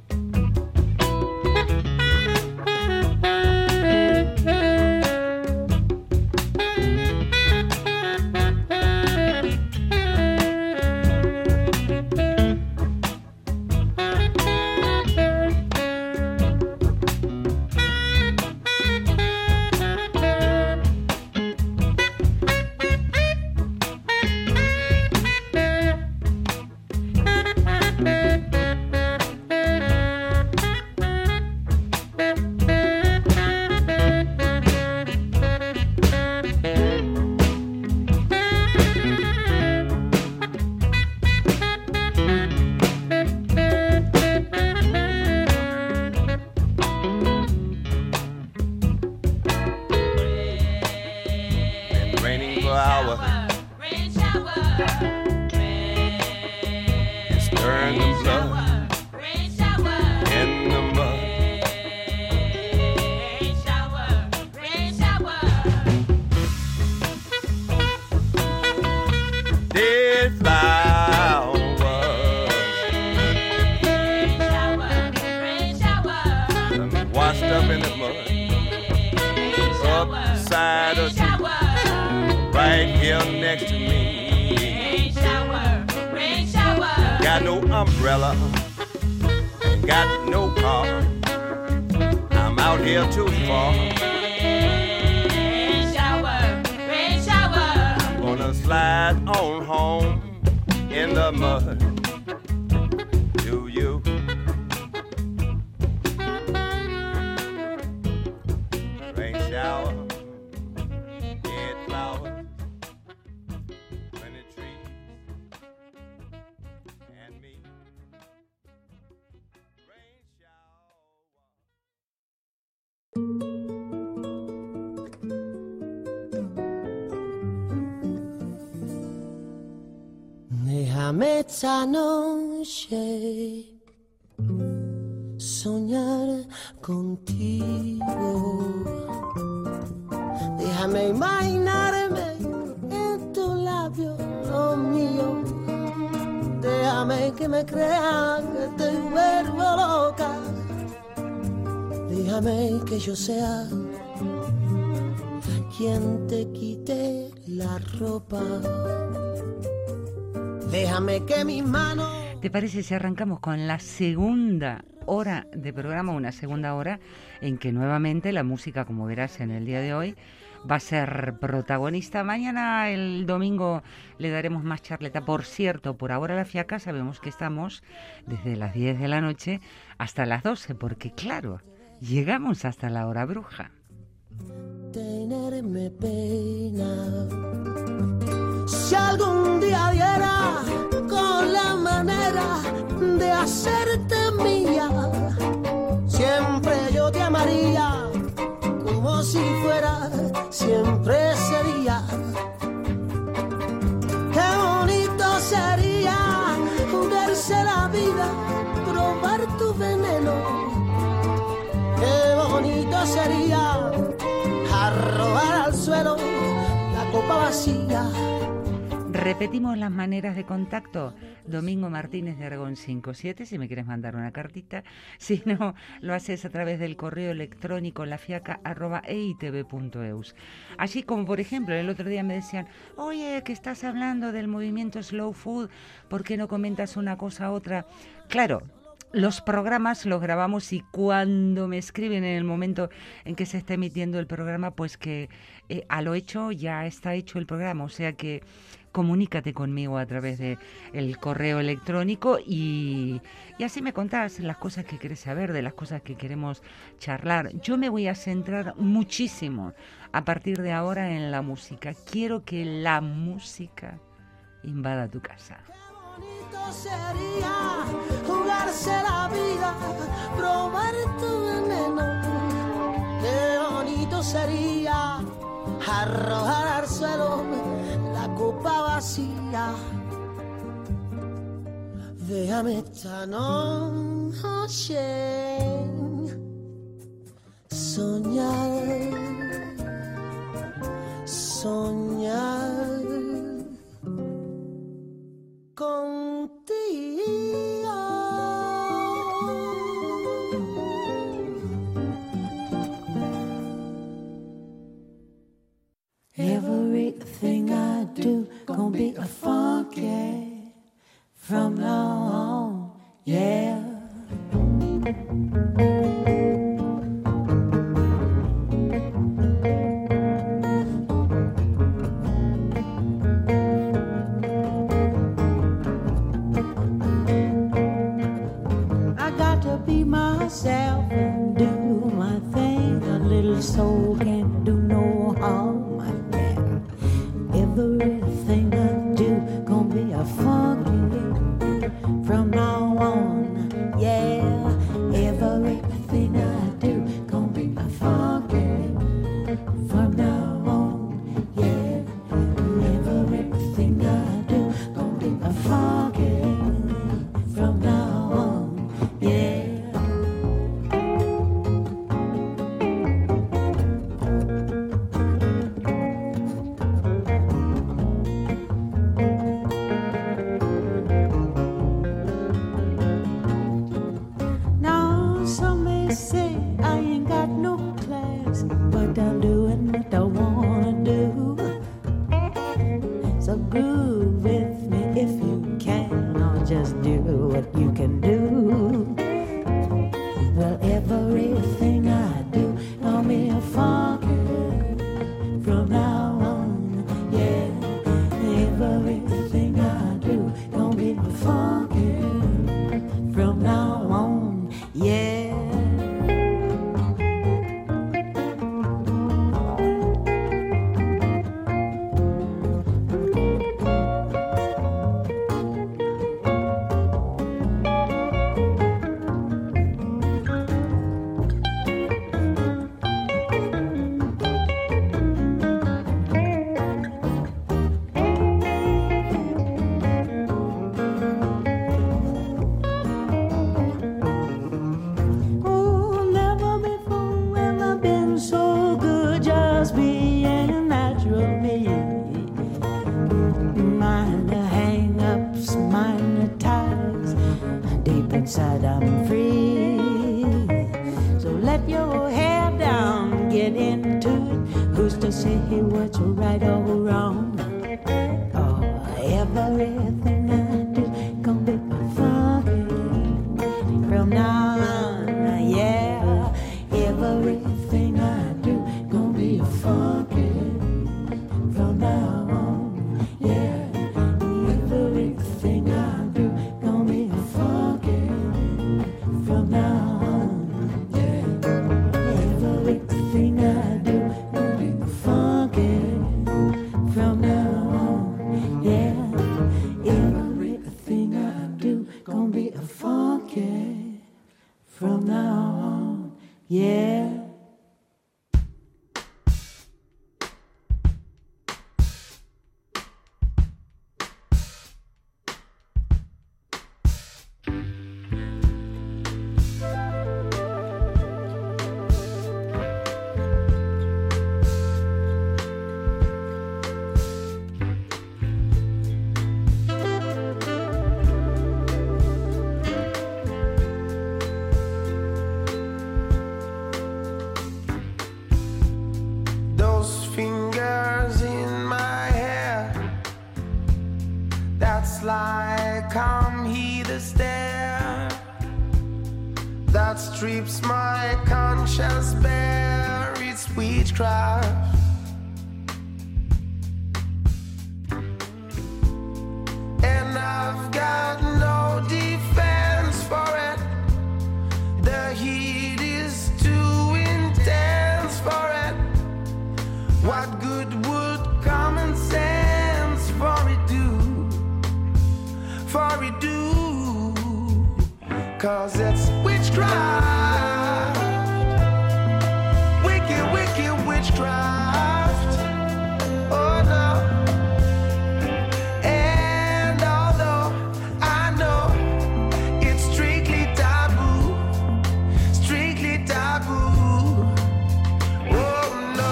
Déjame esta noche soñar contigo. Déjame imaginarme en tu labio, lo mío. Déjame que me crea que te vuelvo loca. Déjame que yo sea quien te quite la ropa. Déjame que mis manos... ¿Te parece si arrancamos con la segunda hora de programa, una segunda hora en que nuevamente la música, como verás en el día de hoy, va a ser protagonista? Mañana, el domingo, le daremos más charleta. Por cierto, por ahora la fiaca sabemos que estamos desde las 10 de la noche hasta las 12, porque claro, llegamos hasta la hora bruja. Tenerme pena. Si algún día diera con la manera de hacerte mía, siempre yo te amaría como si fuera siempre ese día. Qué bonito vida probar tu veneno. Qué bonito sería arrojar al suelo la copa vacía. Repetimos las maneras de contacto. Domingo Martínez de Aragón 57, si me quieres mandar una cartita. Si no, lo haces a través del correo electrónico lafiaca@eitv.eus. Así como, por ejemplo, el otro día me decían, oye, que estás hablando del movimiento Slow Food, ¿por qué no comentas una cosa a otra? Claro, los programas los grabamos y cuando me escriben en el momento en que se está emitiendo el programa, pues que a lo hecho ya está hecho el programa, o sea que comunícate conmigo a través de el correo electrónico y así me contás las cosas que querés saber, de las cosas que queremos charlar. Yo me voy a centrar muchísimo a partir de ahora en la música. Quiero que la música invada tu casa. Bonito sería jugarse la vida, probar tu veneno. Qué bonito sería arrojar al suelo la copa vacía. Déjame esta noche soñar, soñar contigo. Everything I do gonna be a funk, yeah. From now on, yeah. I got to be myself and do my thing. A little soul can't do no harm. Everything I do gonna be a funky from now on, yeah. Everything I do gonna be a funky from now on, yeah. Everything I do gonna be a funky from now on, yeah. Say I ain't got no class, but I'm doing what I wanna do. So groove with me if you can, or just do what you can do. Well, everything I do gonna be a funky from now on, yeah. Everything I do gonna be a funky from now on, yeah. Inside I'm free, so let your hair down, get into it. Who's to say what's right or wrong? Oh, everything I do gonna be funky from now on, yeah. Everything I do gonna be funky from now on, yeah. Everything I do gonna be funky from now on, yeah. Everything I do gonna be funky from now on, yeah. Everything I do gonna be funky from now on, yeah. that strips my conscience bare. It's witchcraft. And I've got no defense for it. The heat is too intense for it. What good would common sense for it do? For it do? 'Cause it's witchcraft. Wicked, wicked witchcraft. Oh no. And although I know it's strictly taboo, strictly taboo. Oh no.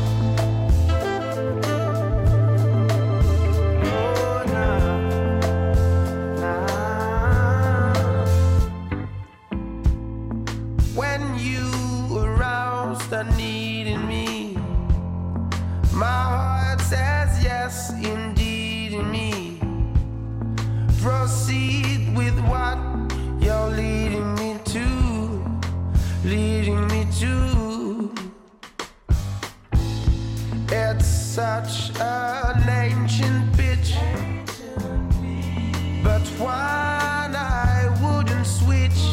Oh no. When you arouse the need in me, my heart says yes, indeed in me. Proceed with what you're leading me to, leading me to. It's such an ancient pitch, but one I wouldn't switch.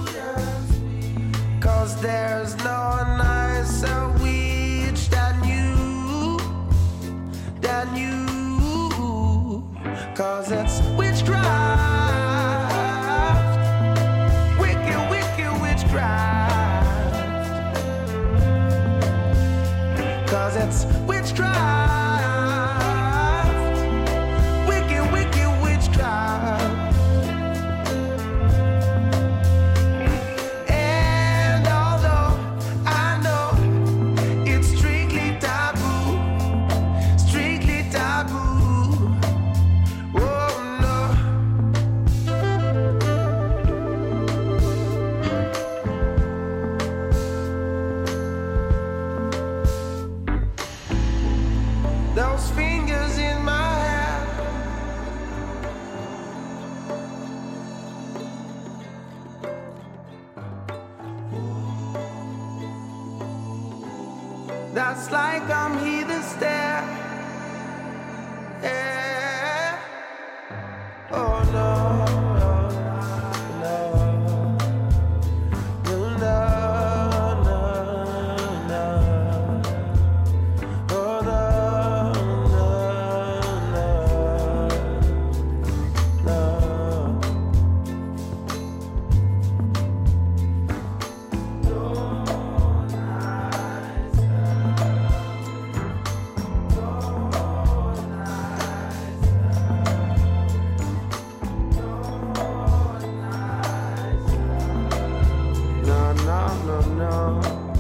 'Cause there's no nicer witch than you, than you. 'Cause it's witchcraft. Wicked, wicked witchcraft. 'Cause it's witchcraft. Wicked, wicked witchcraft. And although I know it's strictly taboo, strictly taboo. Oh no. Those fingers in my hair. That's like I'm here to stare. Yeah. Oh no. No. No, no, no, no. Oh no, no, no, no. No, no, no, no.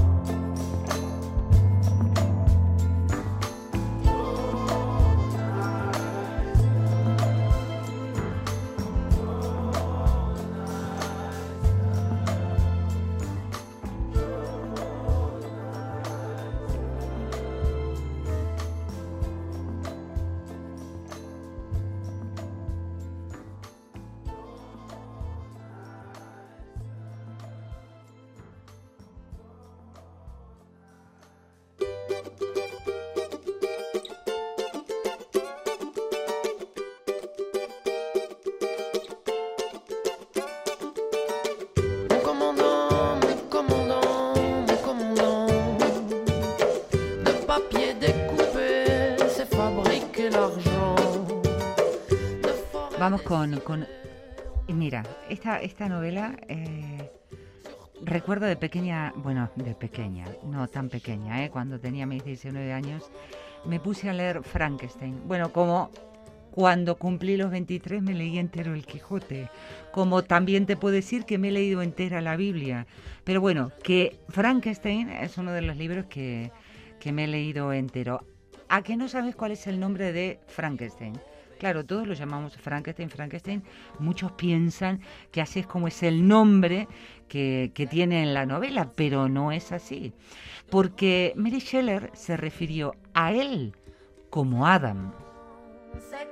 Mon commandant, mon commandant, mon commandant. De papier découpé, c'est fabriquer l'argent. Vamos con... Mira, esta novela... recuerdo de pequeña, bueno, de pequeña, no tan pequeña, cuando tenía mis 19 años, me puse a leer Frankenstein. Bueno, como cuando cumplí los 23 me leí entero el Quijote, como también te puedo decir que me he leído entera la Biblia. Pero bueno, que Frankenstein es uno de los libros que me he leído entero. ¿A que no sabes cuál es el nombre de Frankenstein? Claro, todos lo llamamos Frankenstein. Muchos piensan que así es como es el nombre que tiene en la novela, pero no es así. Porque Mary Shelley se refirió a él como Adam. C'est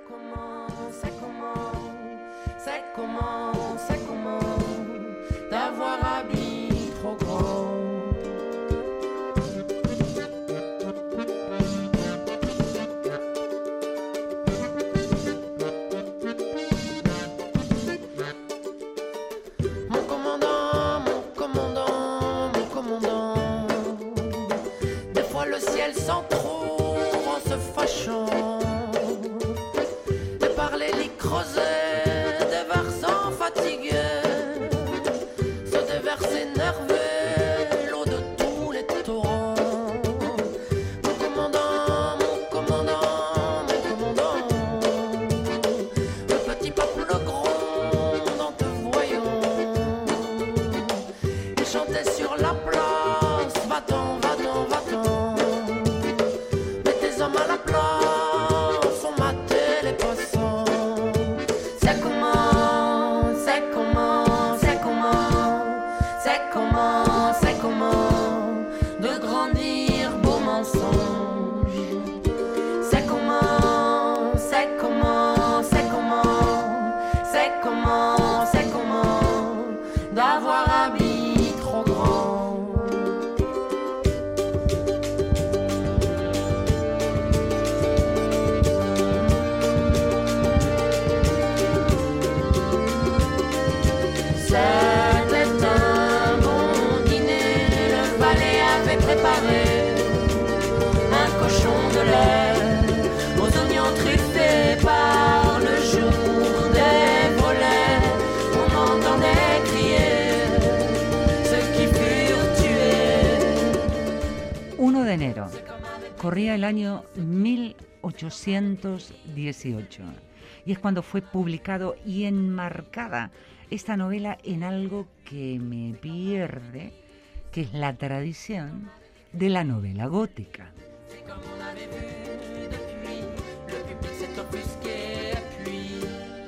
comment d'avoir habillé sans trop en se fâchant de parler les creusets des versants fatigués, ceux des versets nerveux, l'eau de tous les torrents. Mon commandant, mon commandant, mon commandant, le petit peuple gronde en te voyant. Il chantait sur la place, va-t'en, va-t'en, va-t'en. Mets tes hommes à la place, on matait les passants. C'est comment, c'est comment, c'est comment, c'est comment, c'est comment de grandir beau mensonge. C'est comment, c'est comment, c'est comment, c'est comment, c'est comment d'avoir habit trop grand. C'était un bon dîner, le valet avait préparé un cochon de lait aux oignons truffés par le jour des volets. On entendait crier ceux qui furent tués. 1 de enero. Corría el año 1818 y es cuando fue publicado y enmarcada esta novela en algo que me pierde, que es la tradición de la novela gótica. C'est comme on avait vu depuis, le public s'est offusqué puis.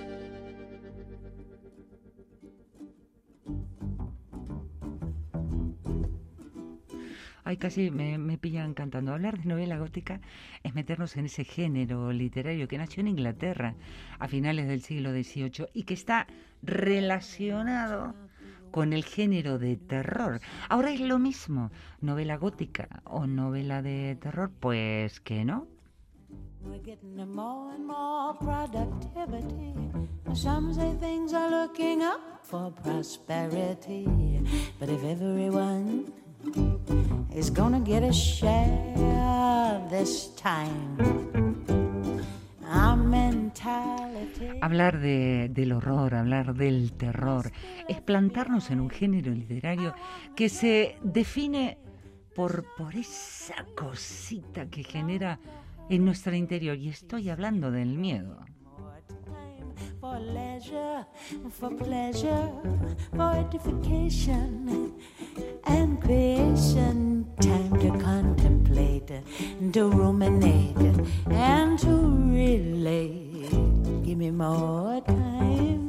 Ay, casi me pillan cantando. Hablar de novela gótica es meternos en ese género literario que nació en Inglaterra a finales del siglo XVIII y que está relacionado con el género de terror. Ahora es lo mismo, novela gótica o novela de terror, pues que no. We're getting more and more productivity. Some say things are looking up for prosperity. But if everyone is gonna get a share this time, our mentality. Hablar del horror, hablar del terror, es plantarnos en un género literario que se define por esa cosita que genera en nuestro interior, y estoy hablando del miedo. For leisure, for pleasure, for edification and creation. Time to contemplate, to ruminate, and to relate. Give me more time,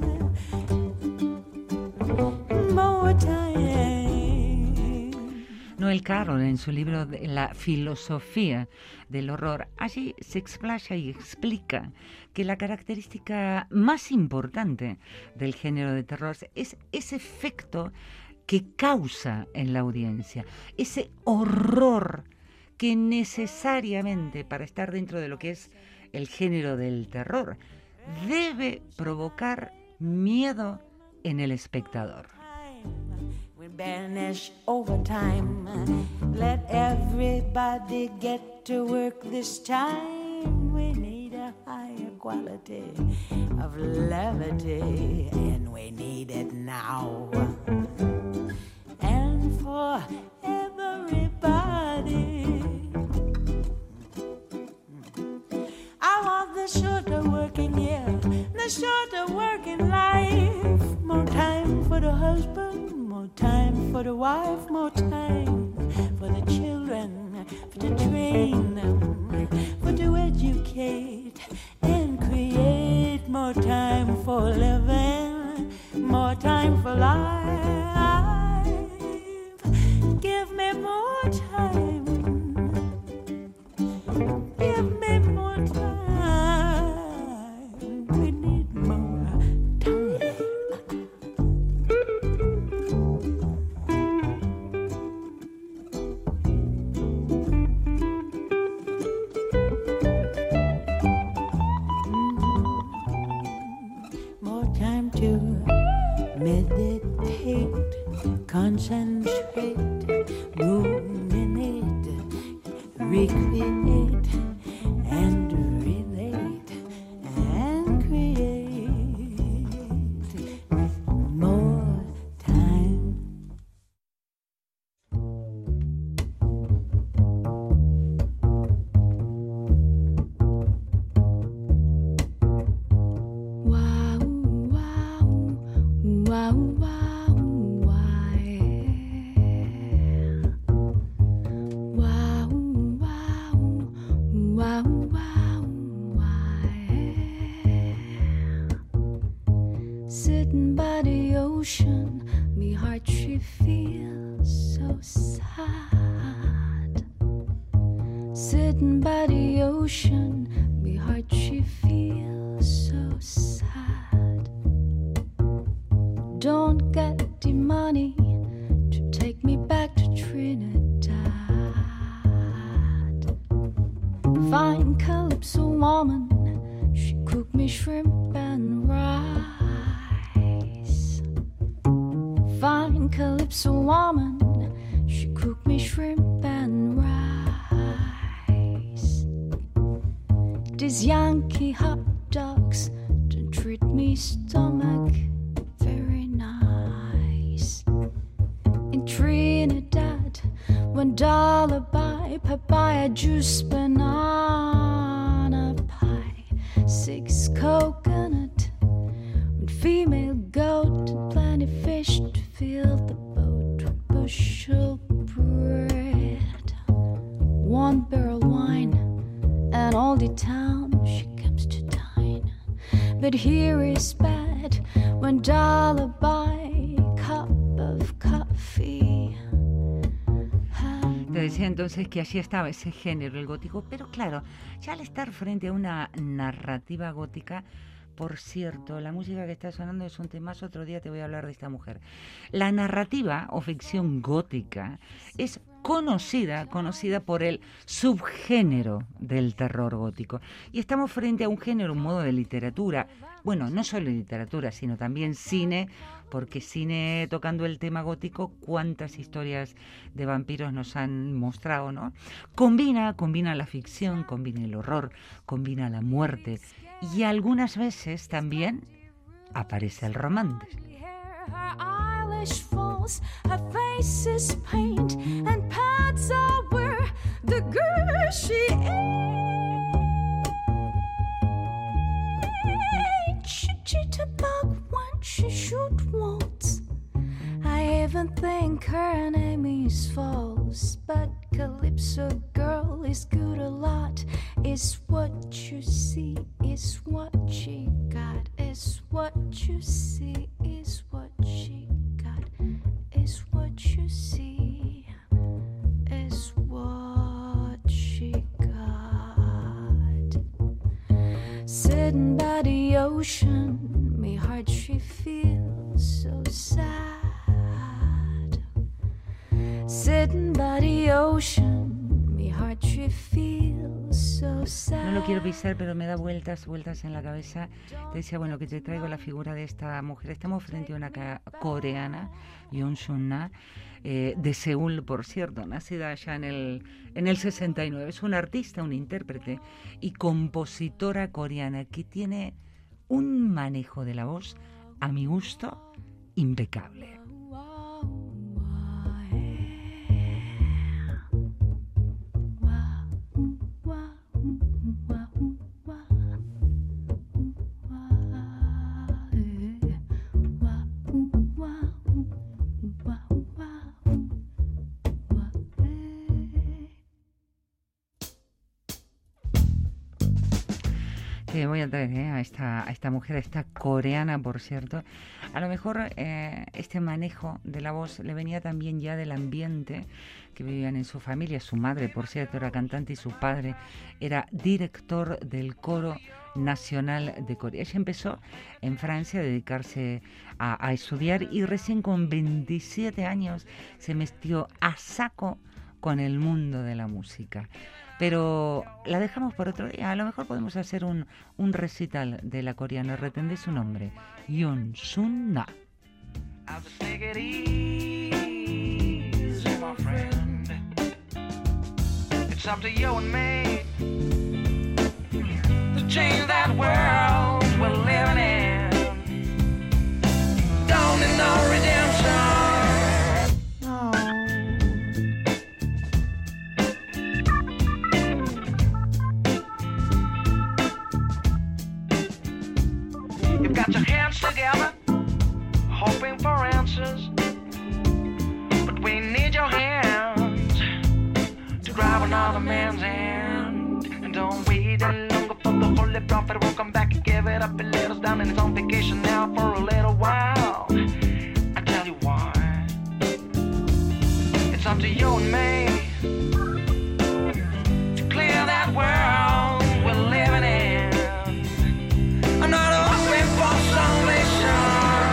more time. Noel Carroll, en su libro de La filosofía del horror, allí se explaya y explica que la característica más importante del género de terror es ese efecto que causa en la audiencia, ese horror que necesariamente, para estar dentro de lo que es el género del terror, debe provocar miedo en el espectador. We banish overtime. Let everybody get to work this time. We need a higher quality of levity, and we need it now. And for everybody, I want the shorter working year, the shorter working life. More time for the husband, more time for the wife, more time for the children, for to train them, for to educate and create. More time for living, more time for life. Give me more time. Give me more time. We need more time. More time to meditate, concentrate, ruminate, recreate and relate and create more time. Wow, wow, wow, wow, why? Wow, wow, wow, wow, why? Sitting by the ocean, me heart she feels so sad. Sitting by the ocean, me heart she feels so sad. Don't get the money to take me back to Trinidad. Fine calypso woman, she cooked me shrimp and rice. Fine calypso woman, she cooked me shrimp and rice. These Yankee hot dogs don't treat me stomach very nice. In Trinidad, $1 buy papaya juice, banana pie, 6 coconut, 1 female goat, and plenty fish to fill the boat with bushel bread, 1 barrel wine, and all the town she comes to dine. But here is bad, $1 buy cup of coffee. Te decía entonces que así estaba ese género, el gótico, pero claro, ya al estar frente a una narrativa gótica, por cierto, la música que está sonando es un temazo, otro día te voy a hablar de esta mujer. La narrativa o ficción gótica es conocida por el subgénero del terror gótico. Y estamos frente a un género, un modo de literatura, bueno, no solo literatura, sino también cine, porque cine tocando el tema gótico, cuántas historias de vampiros nos han mostrado, ¿no? Combina la ficción, combina el horror, combina la muerte y algunas veces también aparece el romance. Her eyelash falls, her face is paint, and pads are where the girl she ain't. She cheat a bug when she shoot once. I even think her name is false, but Calypso girl is good a lot. Is what you see, is what she got, is what you see, is what she got, is what you see, is what she got. Sitting by the ocean, me heart she feels so sad. Sitting by the ocean, me heart she feels so sad. No lo quiero pisar, pero me da vueltas en la cabeza. Te decía, bueno, que te traigo la figura de esta mujer. Estamos frente a una coreana, Yoon Sun-na, de Seúl, por cierto, nacida allá en el 69. Es una artista, una intérprete y compositora coreana que tiene un manejo de la voz, a mi gusto, impecable. Voy a traer a esta mujer, a esta coreana, por cierto. A lo mejor este manejo de la voz le venía también ya del ambiente que vivían en su familia. Su madre, por cierto, era cantante y su padre era director del Coro Nacional de Corea. Ella empezó en Francia a dedicarse a estudiar y recién con 27 años se metió a saco con el mundo de la música. Pero la dejamos por otro día. A lo mejor podemos hacer un recital de la coreana. Retendé su nombre, Yoon Sun-na. It's up to you and me to change that world we're living in. Don't need no redemption. You've got your hands together, hoping for answers, but we need your hands to grab another man's hand. And don't wait any longer for the holy prophet will come back and give it up and let us down. And he's on vacation now for a little while. I tell you why. It's up to you and me to clear that world we're living in. I'm not hoping for salvation.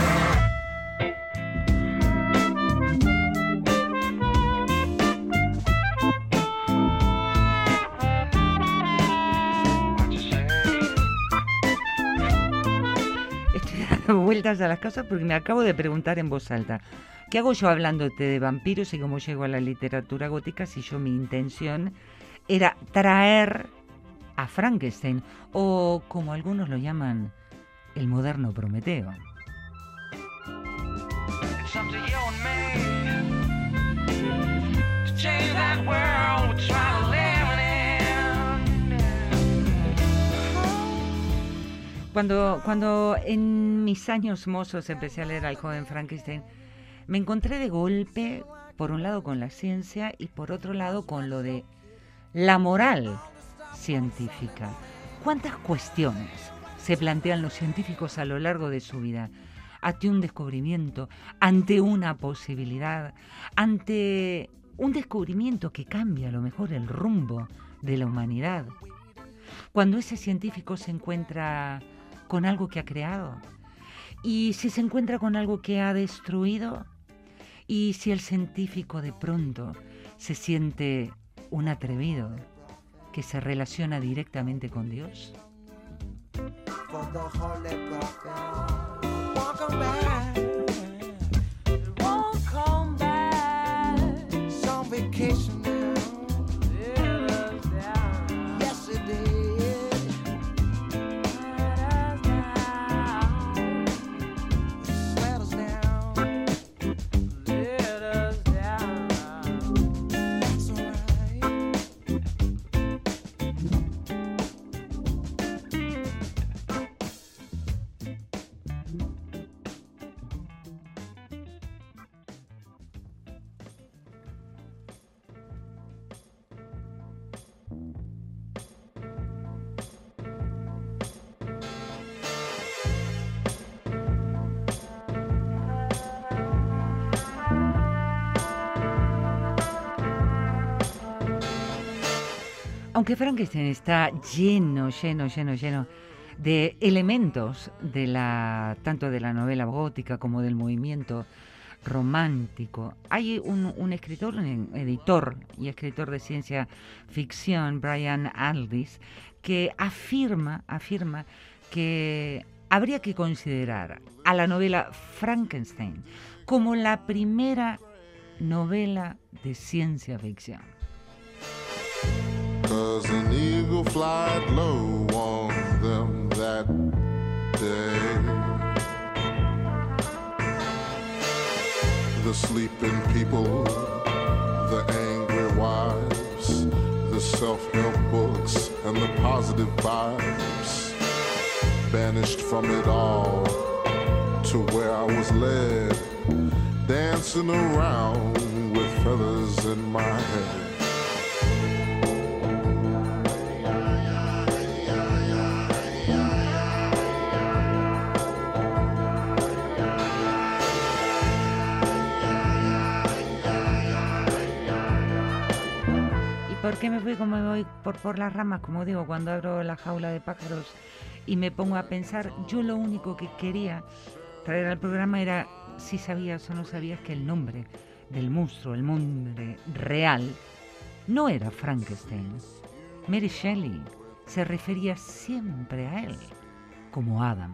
Estoy dando vueltas a las cosas porque me acabo de preguntar en voz alta. ¿Qué hago yo hablándote de vampiros y cómo llego a la literatura gótica si mi intención era traer a Frankenstein, o como algunos lo llaman, el moderno Prometeo? It's up to you and me to change that world we're trying to live in. Cuando en mis años mozos empecé a leer al joven Frankenstein, me encontré de golpe, por un lado con la ciencia y por otro lado con lo de la moral científica. ¿Cuántas cuestiones se plantean los científicos a lo largo de su vida? Ante un descubrimiento, ante una posibilidad, ante un descubrimiento que cambia a lo mejor el rumbo de la humanidad. Cuando ese científico se encuentra con algo que ha creado, y si se encuentra con algo que ha destruido, y si el científico de pronto se siente un atrevido que se relaciona directamente con Dios. For the holy prophet, won't come back. It won't come back. It's on vacation now. Yes, it did. Let us down. Let us down. It's alright. Aunque Frankenstein está lleno de elementos de tanto de la novela gótica como del movimiento romántico, hay un escritor, un editor y escritor de ciencia ficción, Brian Aldiss, que afirma que habría que considerar a la novela Frankenstein como la primera novela de ciencia ficción. 'Cause an eagle flied low on them that day. The sleeping people, the angry wives, the self-help books and the positive vibes, banished from it all to where I was led, dancing around with feathers in my head. ¿Por qué me fui como me voy por las ramas? Como digo, cuando abro la jaula de pájaros y me pongo a pensar, yo lo único que quería traer al programa era si sabías o no sabías que el nombre del monstruo, el nombre real, no era Frankenstein. Mary Shelley se refería siempre a él como Adam.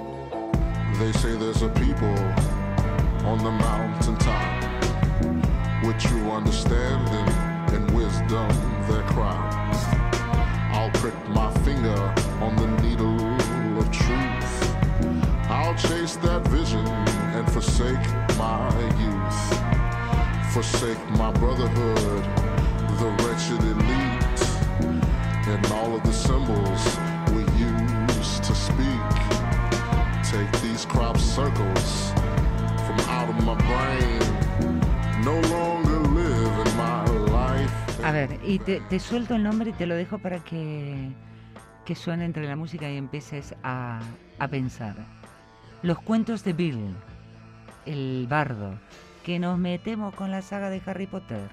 They say there's a people on the mountaintop with true understanding and wisdom their crown. I'll prick my finger on the needle of truth. I'll chase that vision and forsake my youth. Forsake my brotherhood, the wretched elite, and all of the symbols we use to speak. Take these crop circles from out of my brain. No longer live in my life. A ver, y te suelto el nombre y te lo dejo para que suene entre la música y empieces a pensar. Los cuentos de Bill, el bardo, que nos metemos con la saga de Harry Potter.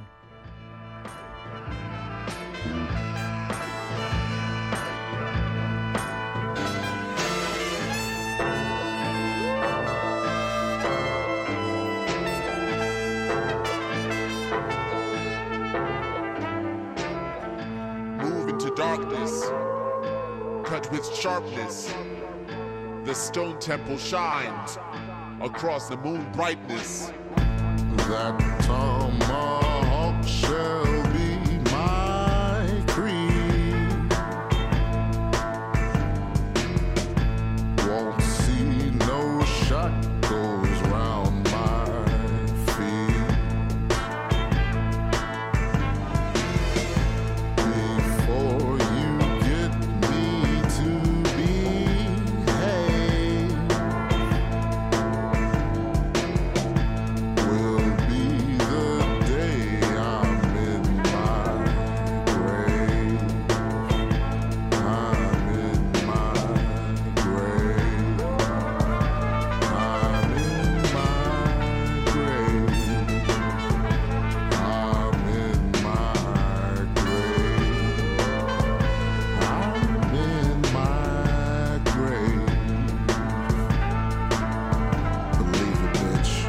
Move into darkness, cut with sharpness. The stone temple shines across the moon brightness. That tomahawk shall be my creed. Won't see no shackles round my feet. Before you get me to behave, will be the day I'm in my grave. I'm in my grave. I'm in my grave. I'm in my grave. I'm in my grave. Believe it, bitch.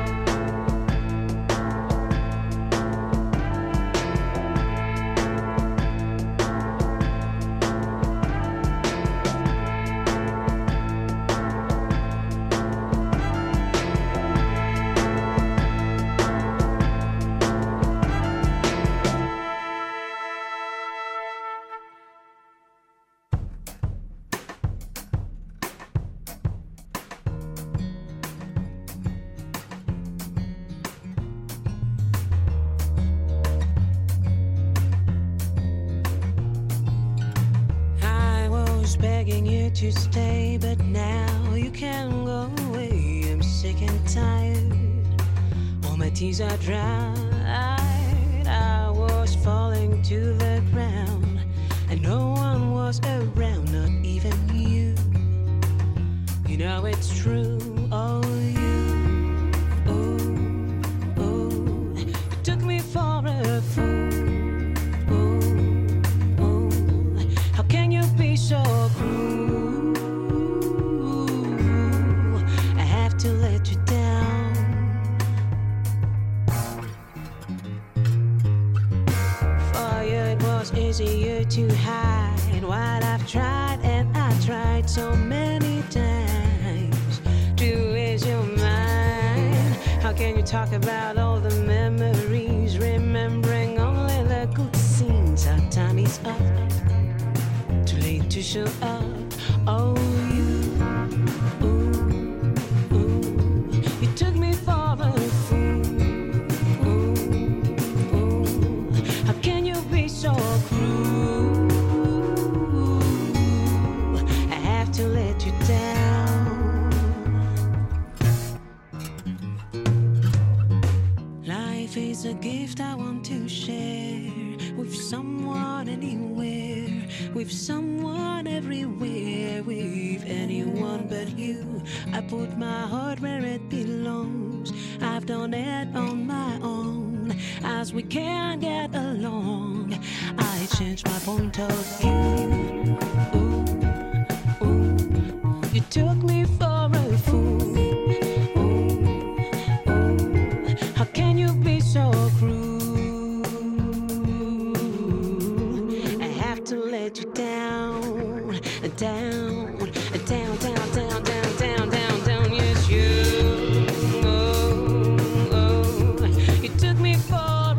I was begging you to stay, but now you can go away. I'm sick and tired. All my tears are dried. I was falling to the ground, and no one was around, not even you. You know it's true, oh you. Oh, oh, you took me for a fool. How can you be so cruel? I have to let you down. For you it was easier to hide what I've tried, and I tried so many times to ease your mind. How can you talk about all the memories, remembering only the good scenes? Our time is up, too late to show up. Oh, you, ooh, ooh, you took me for a fool. Ooh, ooh, how can you be so cruel? I have to let you down. Life is a gift I want to share with someone anywhere, with someone everywhere, with anyone but you. I put my heart where it belongs. I've done it on my own. As we can't get along, I changed my point of view. Ooh, ooh, you took me for a fool. Ooh, ooh, how can you be so cruel? I have to let you down, down, down, down, down, down, down, down, down. Yes, you. Oh, oh, you took me for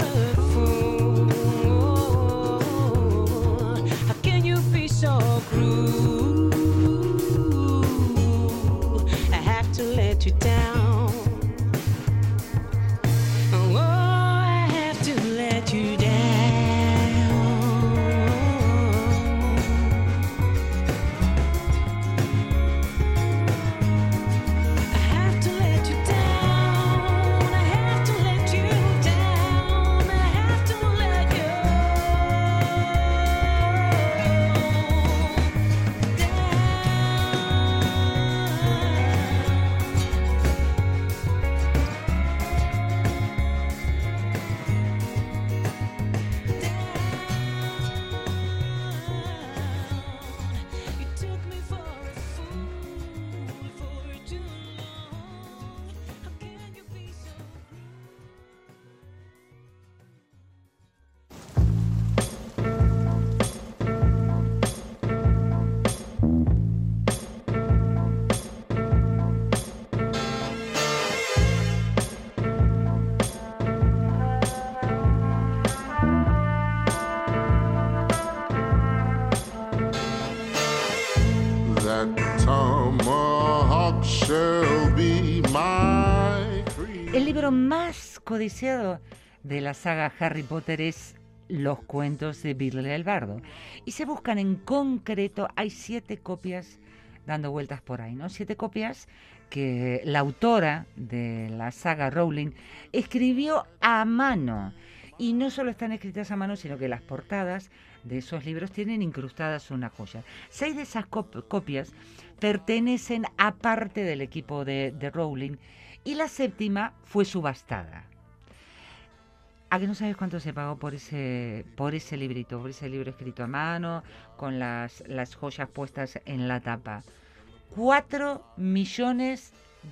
El libro más codiciado de la saga Harry Potter es Los cuentos de Billy el Bardo. Y se buscan en concreto, hay 7 copias dando vueltas por ahí, ¿no? 7 copias que la autora de la saga Rowling escribió a mano. Y no solo están escritas a mano, sino que las portadas de esos libros tienen incrustadas una joya. 6 de esas copias pertenecen a parte del equipo de Rowling y la 7ª fue subastada. ¿A que no sabes cuánto se pagó por ese librito, por ese libro escrito a mano, con las joyas puestas en la tapa? $4 millones.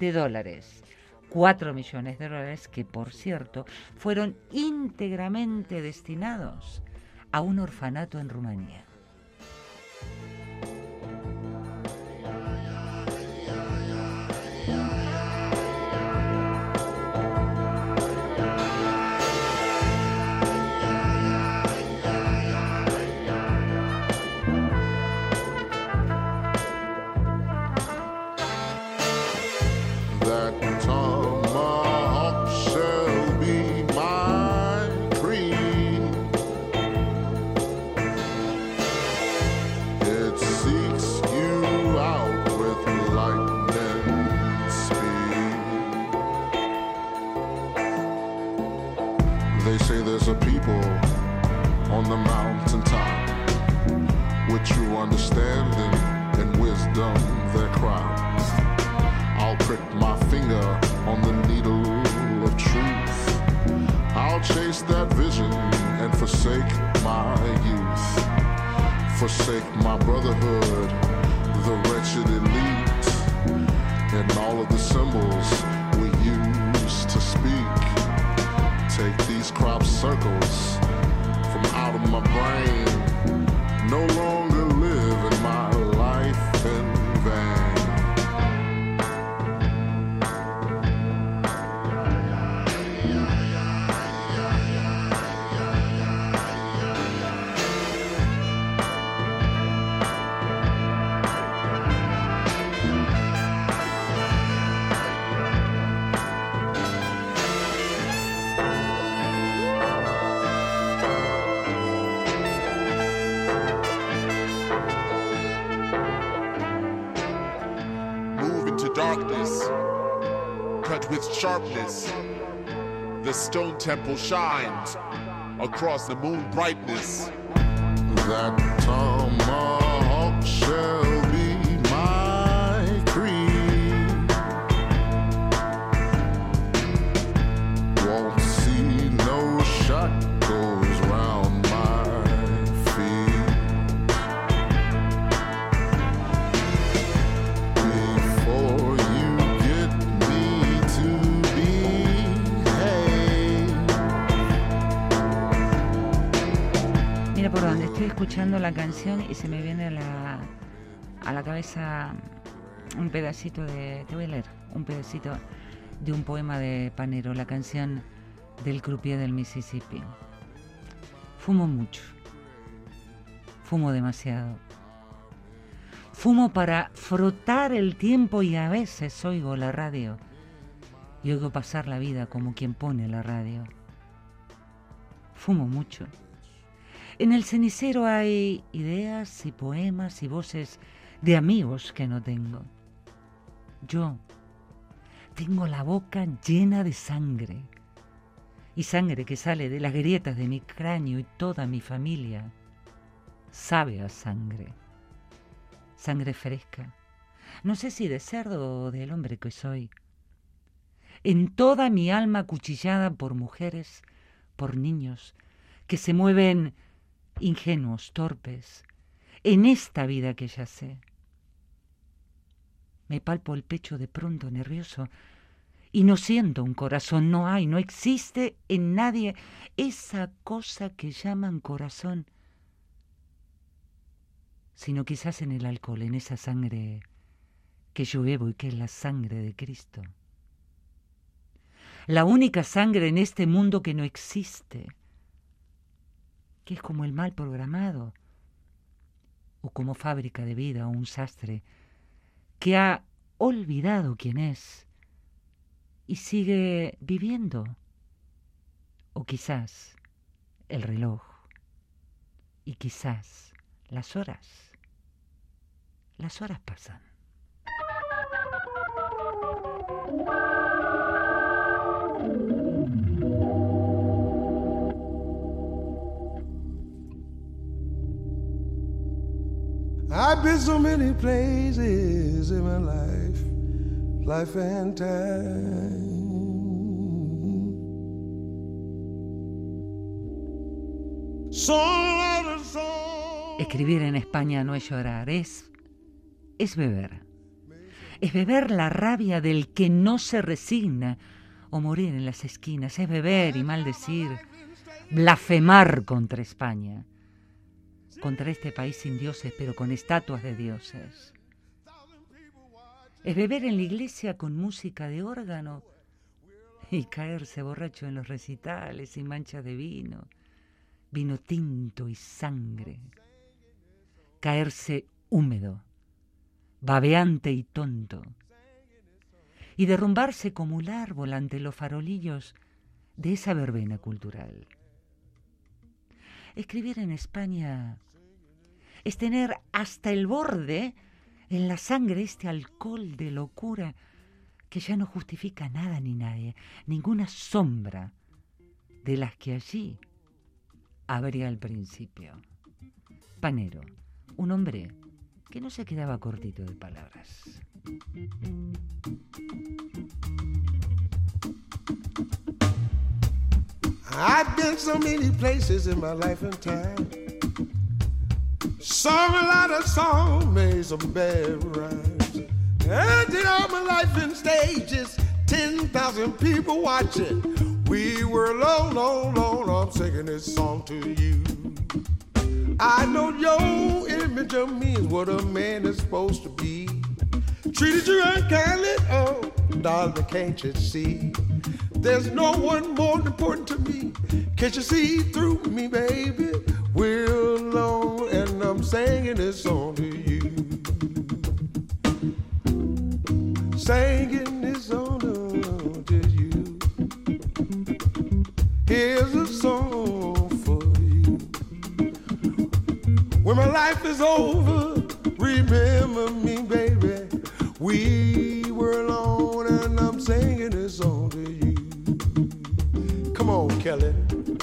4 millones de dólares que, por cierto, fueron íntegramente destinados a un orfanato en Rumanía. Sharpness, the stone temple shines across the moon brightness. That tomahawk shall be my creed. Won't see no shackles round my feet. Before you get me to Mira por dónde estoy escuchando la canción y se me viene a la cabeza un pedacito te voy a leer un pedacito de un poema de Panero, la canción del croupier del Mississippi. Fumo mucho, fumo demasiado, fumo para frotar el tiempo y a veces oigo la radio y oigo pasar la vida como quien pone la radio. Fumo mucho. En el cenicero hay ideas y poemas y voces de amigos que no tengo. Yo tengo la boca llena de sangre, y sangre que sale de las grietas de mi cráneo, y toda mi familia sabe a sangre. Sangre fresca, no sé si de cerdo o del hombre que soy. En toda mi alma acuchillada por mujeres, por niños, que se mueven ingenuos, torpes, en esta vida que ya sé. Me palpo el pecho de pronto nervioso y no siento un corazón, no hay, no existe en nadie esa cosa que llaman corazón, sino quizás en el alcohol, en esa sangre que yo bebo y que es la sangre de Cristo. La única sangre en este mundo que no existe, que es como el mal programado, o como fábrica de vida o un sastre que ha olvidado quién es y sigue viviendo. O quizás el reloj. Y quizás las horas. Las horas pasan. I've been so many places in my life and time. Escribir en España no es llorar, es beber. Es beber la rabia del que no se resigna o morir en las esquinas. Es beber y maldecir, blasfemar contra España. Contra este país sin dioses, pero con estatuas de dioses. Es beber en la iglesia con música de órgano y caerse borracho en los recitales y manchas de vino tinto y sangre. Caerse húmedo, babeante y tonto, y derrumbarse como un árbol ante los farolillos de esa verbena cultural. Escribir en España es tener hasta el borde en la sangre este alcohol de locura que ya no justifica nada ni nadie, ninguna sombra de las que allí habría al principio. Panero, un hombre que no se quedaba cortito de palabras. I've been so many places in my life and time. Sung a lot of songs, made some bad rhymes. I did all my life in stages, 10,000 people watching. We were alone, I'm singing this song to you. I know your image of me is what a man is supposed to be. Treated you unkindly, oh, darling, can't you see? There's no one more important to me. Can't you see through me, baby? We're alone and I'm singing this song to you. Singing this song to you. Here's a song for you. When my life is over, remember me, baby. We were alone and I'm singing this song to you. Come on, Kelly.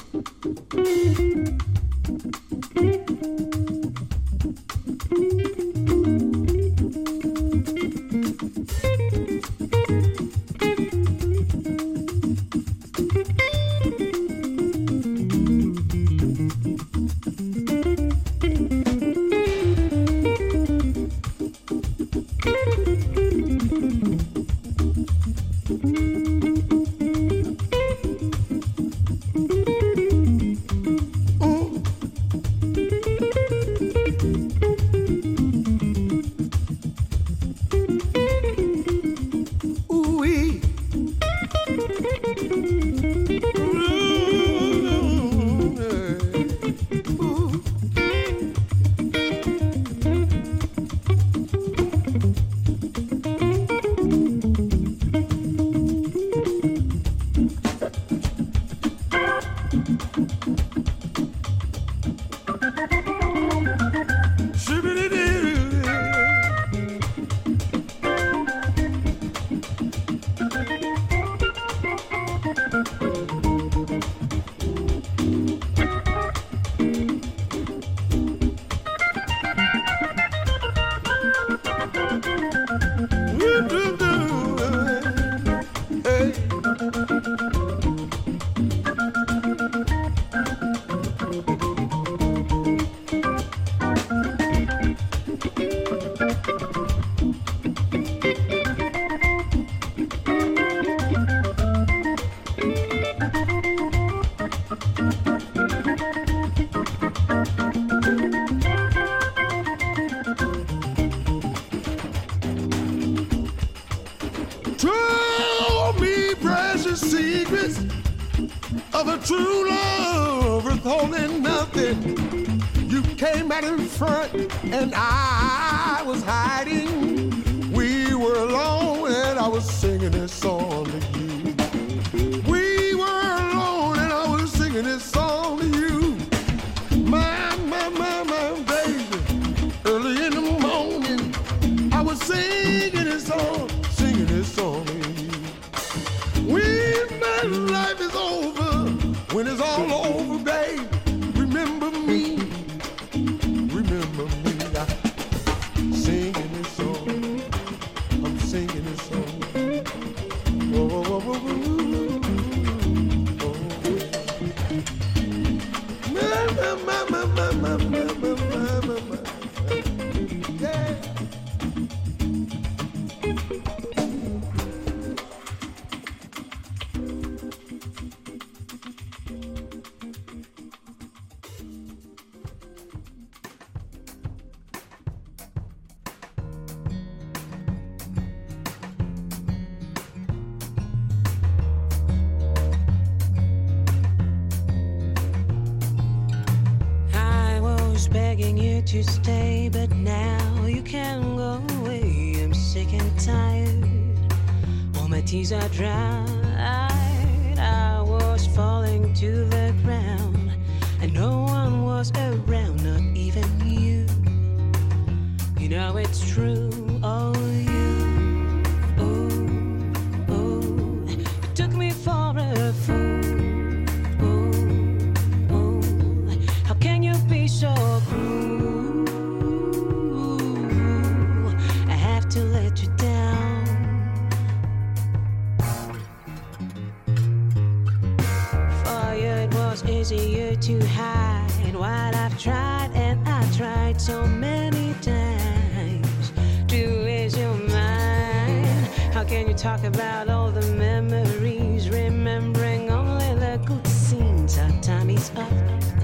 True love withholding nothing. You came out in front and I was hiding. We were alone and I was singing this song to you. We were alone and I was singing this song to you. My baby. Early in the morning, I was singing this song to you. When life is over, when it's all over, babe, remember me. Remember me. I'm singing this song. I'm singing this song. Oh, oh, oh, oh, oh. Yeah. Begging you to stay, but now you can't go away. I'm sick and tired. All my tears are dried. I was falling to the ground, and no one was around, not even you. You know it's true. Oh, you. Oh, you took me for a fool. So cruel, I have to let you down. For you it was easier to hide what I've tried, and I tried so many times to ease your mind. How can you talk about all the memories, remembering only the good scenes? Our time is up,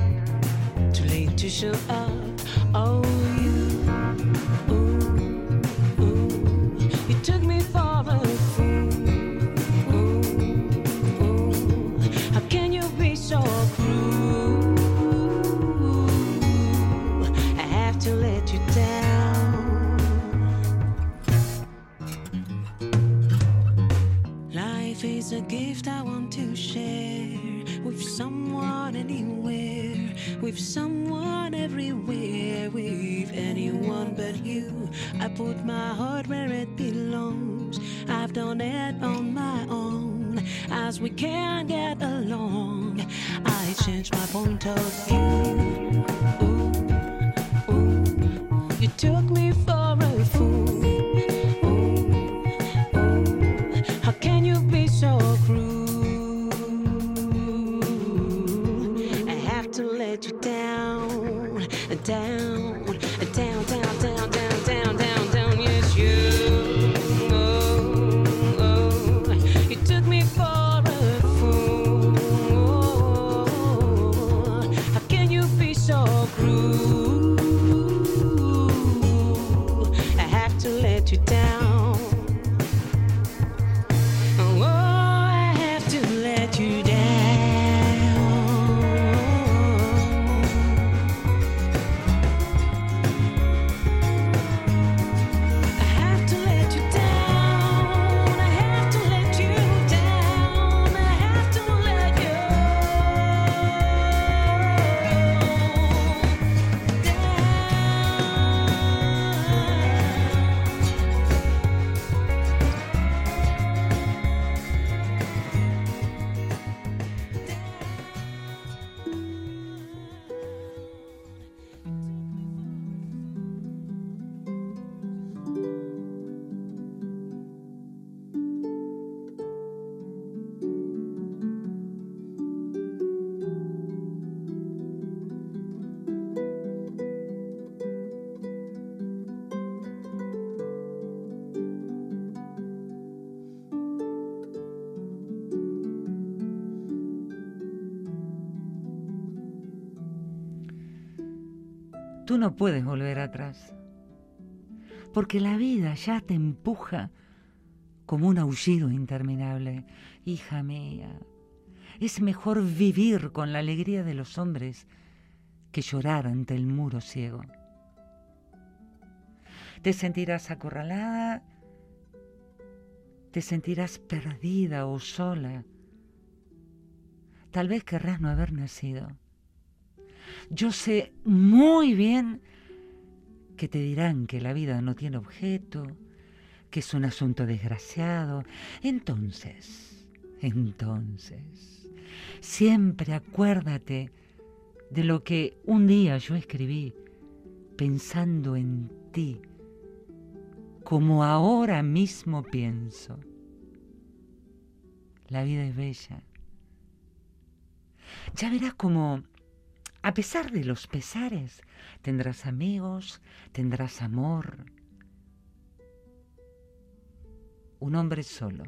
to show up. Oh, you took me for a fool. How can you be so cruel? I have to let you down. Life is a gift I want to share with someone anywhere, with someone everywhere, with anyone but you. I put my heart where it belongs. I've done it on my own. As we can't get along, I changed my point of view. You took me for a fool. How can you be so cruel? To let you down, down, down, down, down, down, down, down, down. Yes, you. You took me for a fool. How can you be so cruel? I have to let you down. Oh, I have to let you down. Tú no puedes volver atrás, porque la vida ya te empuja como un aullido interminable. Hija mía, es mejor vivir con la alegría de los hombres que llorar ante el muro ciego. Te sentirás acorralada te sentirás perdida o sola. Tal vez querrás no haber nacido. Yo sé muy bien que te dirán que la vida no tiene objeto, que es un asunto desgraciado. Entonces, siempre acuérdate de lo que un día yo escribí pensando en ti, como ahora mismo pienso. La vida es bella. Ya verás cómo, a pesar de los pesares, tendrás amigos, tendrás amor. Un hombre solo,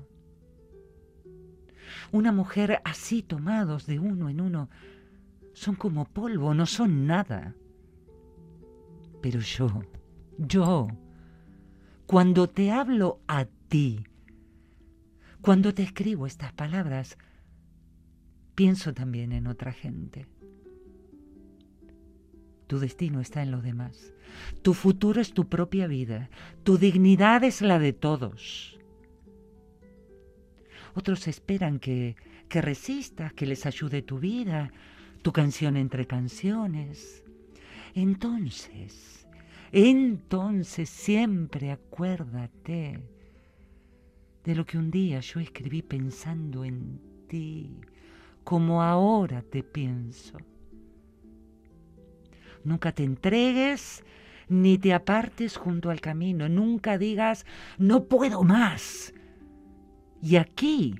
una mujer así tomados de uno en uno, son como polvo, no son nada. Pero yo, cuando te hablo a ti, cuando te escribo estas palabras, pienso también en otra gente. Tu destino está en los demás. Tu futuro es tu propia vida. Tu dignidad es la de todos. Otros esperan que resistas, que les ayude tu vida, tu canción entre canciones. Entonces siempre acuérdate de lo que un día yo escribí pensando en ti, como ahora te pienso. Nunca te entregues ni te apartes junto al camino. Nunca digas, no puedo más. Y aquí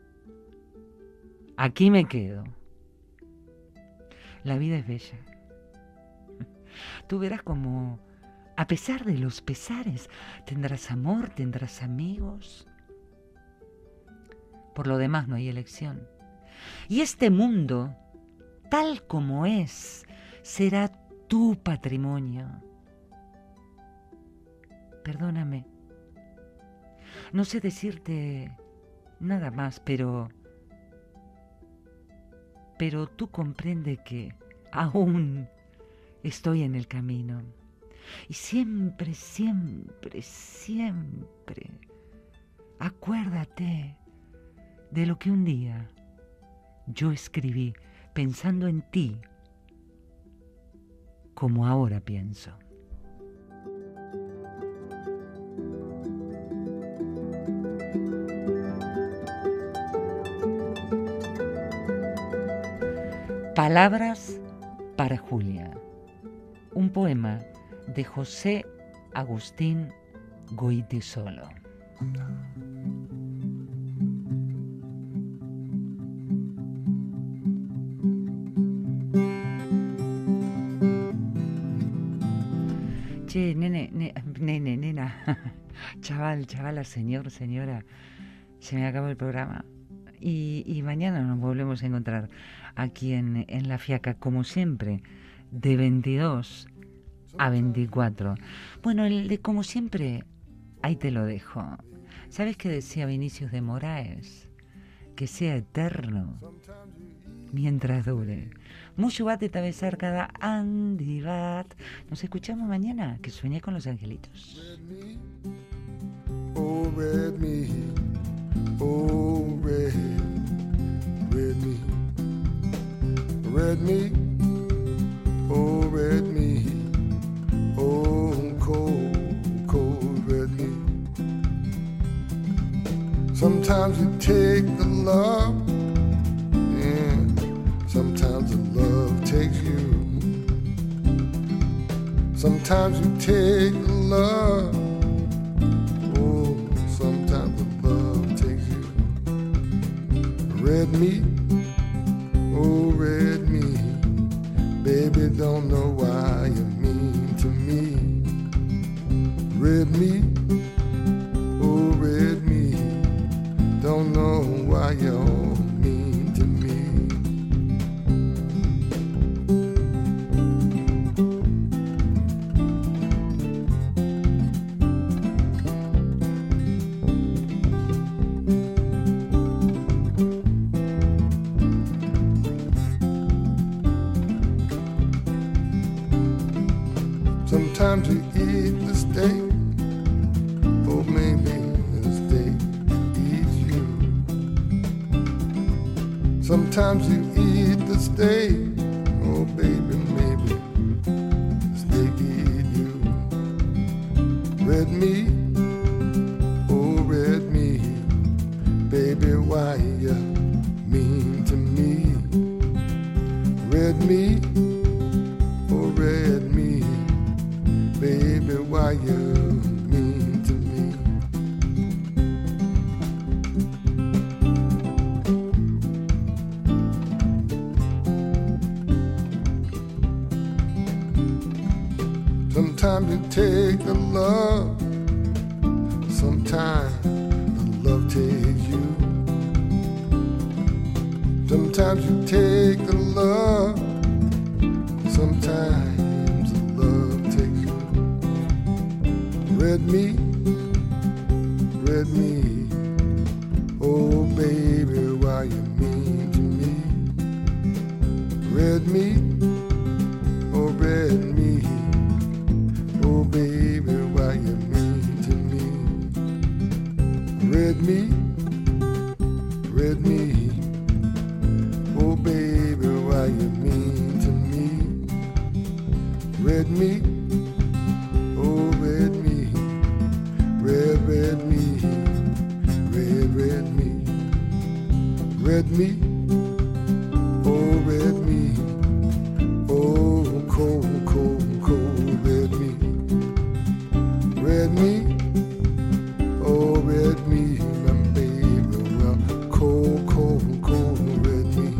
me quedo. La vida es bella. Tú verás como, a pesar de los pesares, tendrás amor, tendrás amigos. Por lo demás no hay elección. Y este mundo, tal como es, será tu patrimonio. Perdóname. No sé decirte nada más, pero tú comprende que aún estoy en el camino. Y siempre acuérdate de lo que un día yo escribí pensando en ti, como ahora pienso. Palabras para Julia, un poema de José Agustín Goytisolo. Che, nena, chavala, señora, se me acabó el programa. Y mañana nos volvemos a encontrar aquí en La Fiaca, como siempre, de 22 a 24. Bueno, el de como siempre, ahí te lo dejo. ¿Sabes qué decía Vinicius de Moraes? Que sea eterno mientras dure. Mucho bate tabezar cada andivat. Nos escuchamos mañana, que sueñe con los angelitos. Oh, red me. Oh, red me. Red me. Oh, red me. Oh, cold red me. Sometimes you take the love, and sometimes the love takes you. Sometimes you take the love, oh, sometimes the love takes you. Red meat, oh, red meat, baby, don't know why you mean to me. Red meat, oh, red meat, don't know why you're mean to me. Sometimes you eat the steak, or maybe the steak Sometimes you eat the steak. Oh, baby, maybe steak eat you. Red meat, oh, red meat. Baby, why you mean to me? Red meat, oh, red meat. Baby, why you mean to me? Sometimes you take the love, sometimes the love takes you. Sometimes you take the love, sometimes the love takes you. Red meat, oh baby, why you mean to me? Red meat, oh red meat. Oh baby, why you mean to me? Red meat, oh baby, why you mean to me? Red meat, oh red meat, red meat, red meat, red meat, oh red meat, oh cold, cold, cold red meat. Red meat, oh red meat, my baby, well, cold, cold, cold red meat.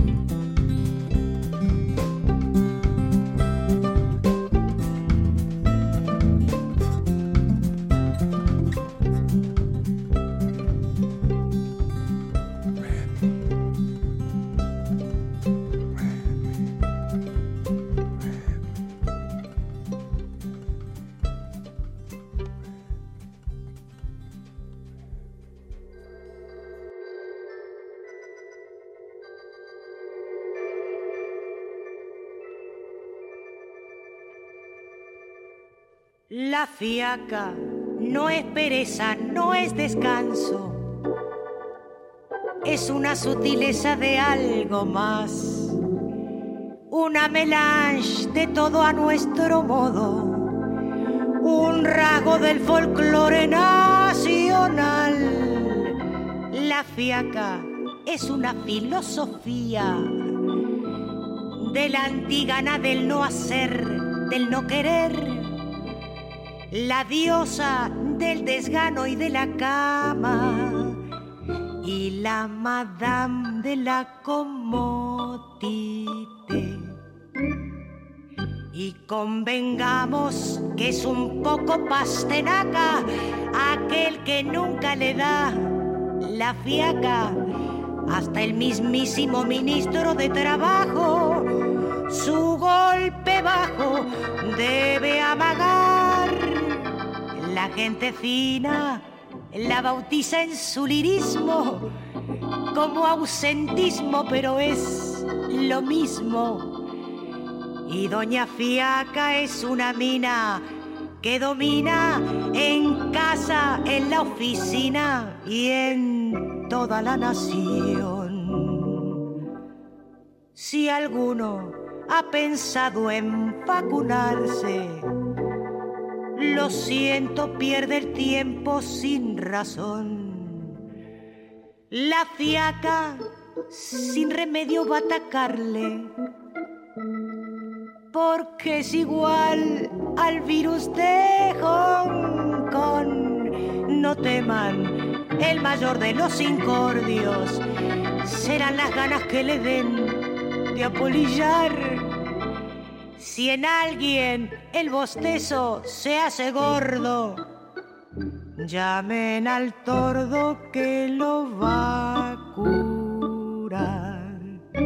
La fiaca no es pereza, no es descanso, es una sutileza de algo más, una melange de todo a nuestro modo, un rasgo del folclore nacional. La fiaca es una filosofía de la antigana del no hacer, del no querer, la diosa del desgano y de la cama, y la madame de la comodité. Y convengamos que es un poco pastenaca aquel que nunca le da la fiaca, hasta el mismísimo ministro de Trabajo su golpe bajo debe amagar. La gente fina la bautiza en su lirismo como ausentismo, pero es lo mismo. Y doña Fiaca es una mina que domina en casa, en la oficina y en toda la nación. Si alguno ha pensado en vacunarse, lo siento, pierde el tiempo sin razón. La fiaca sin remedio va a atacarle, porque es igual al virus de Hong Kong. No teman, el mayor de los incordios serán las ganas que le den de apolillar. Si en alguien el bostezo se hace gordo, llamen al tordo que lo va a curar.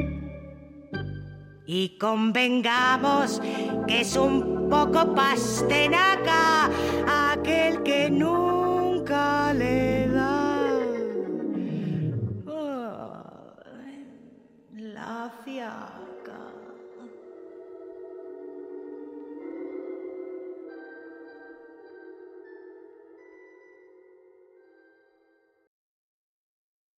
Y convengamos que es un poco pastenaca aquel que nunca le da la fiaca.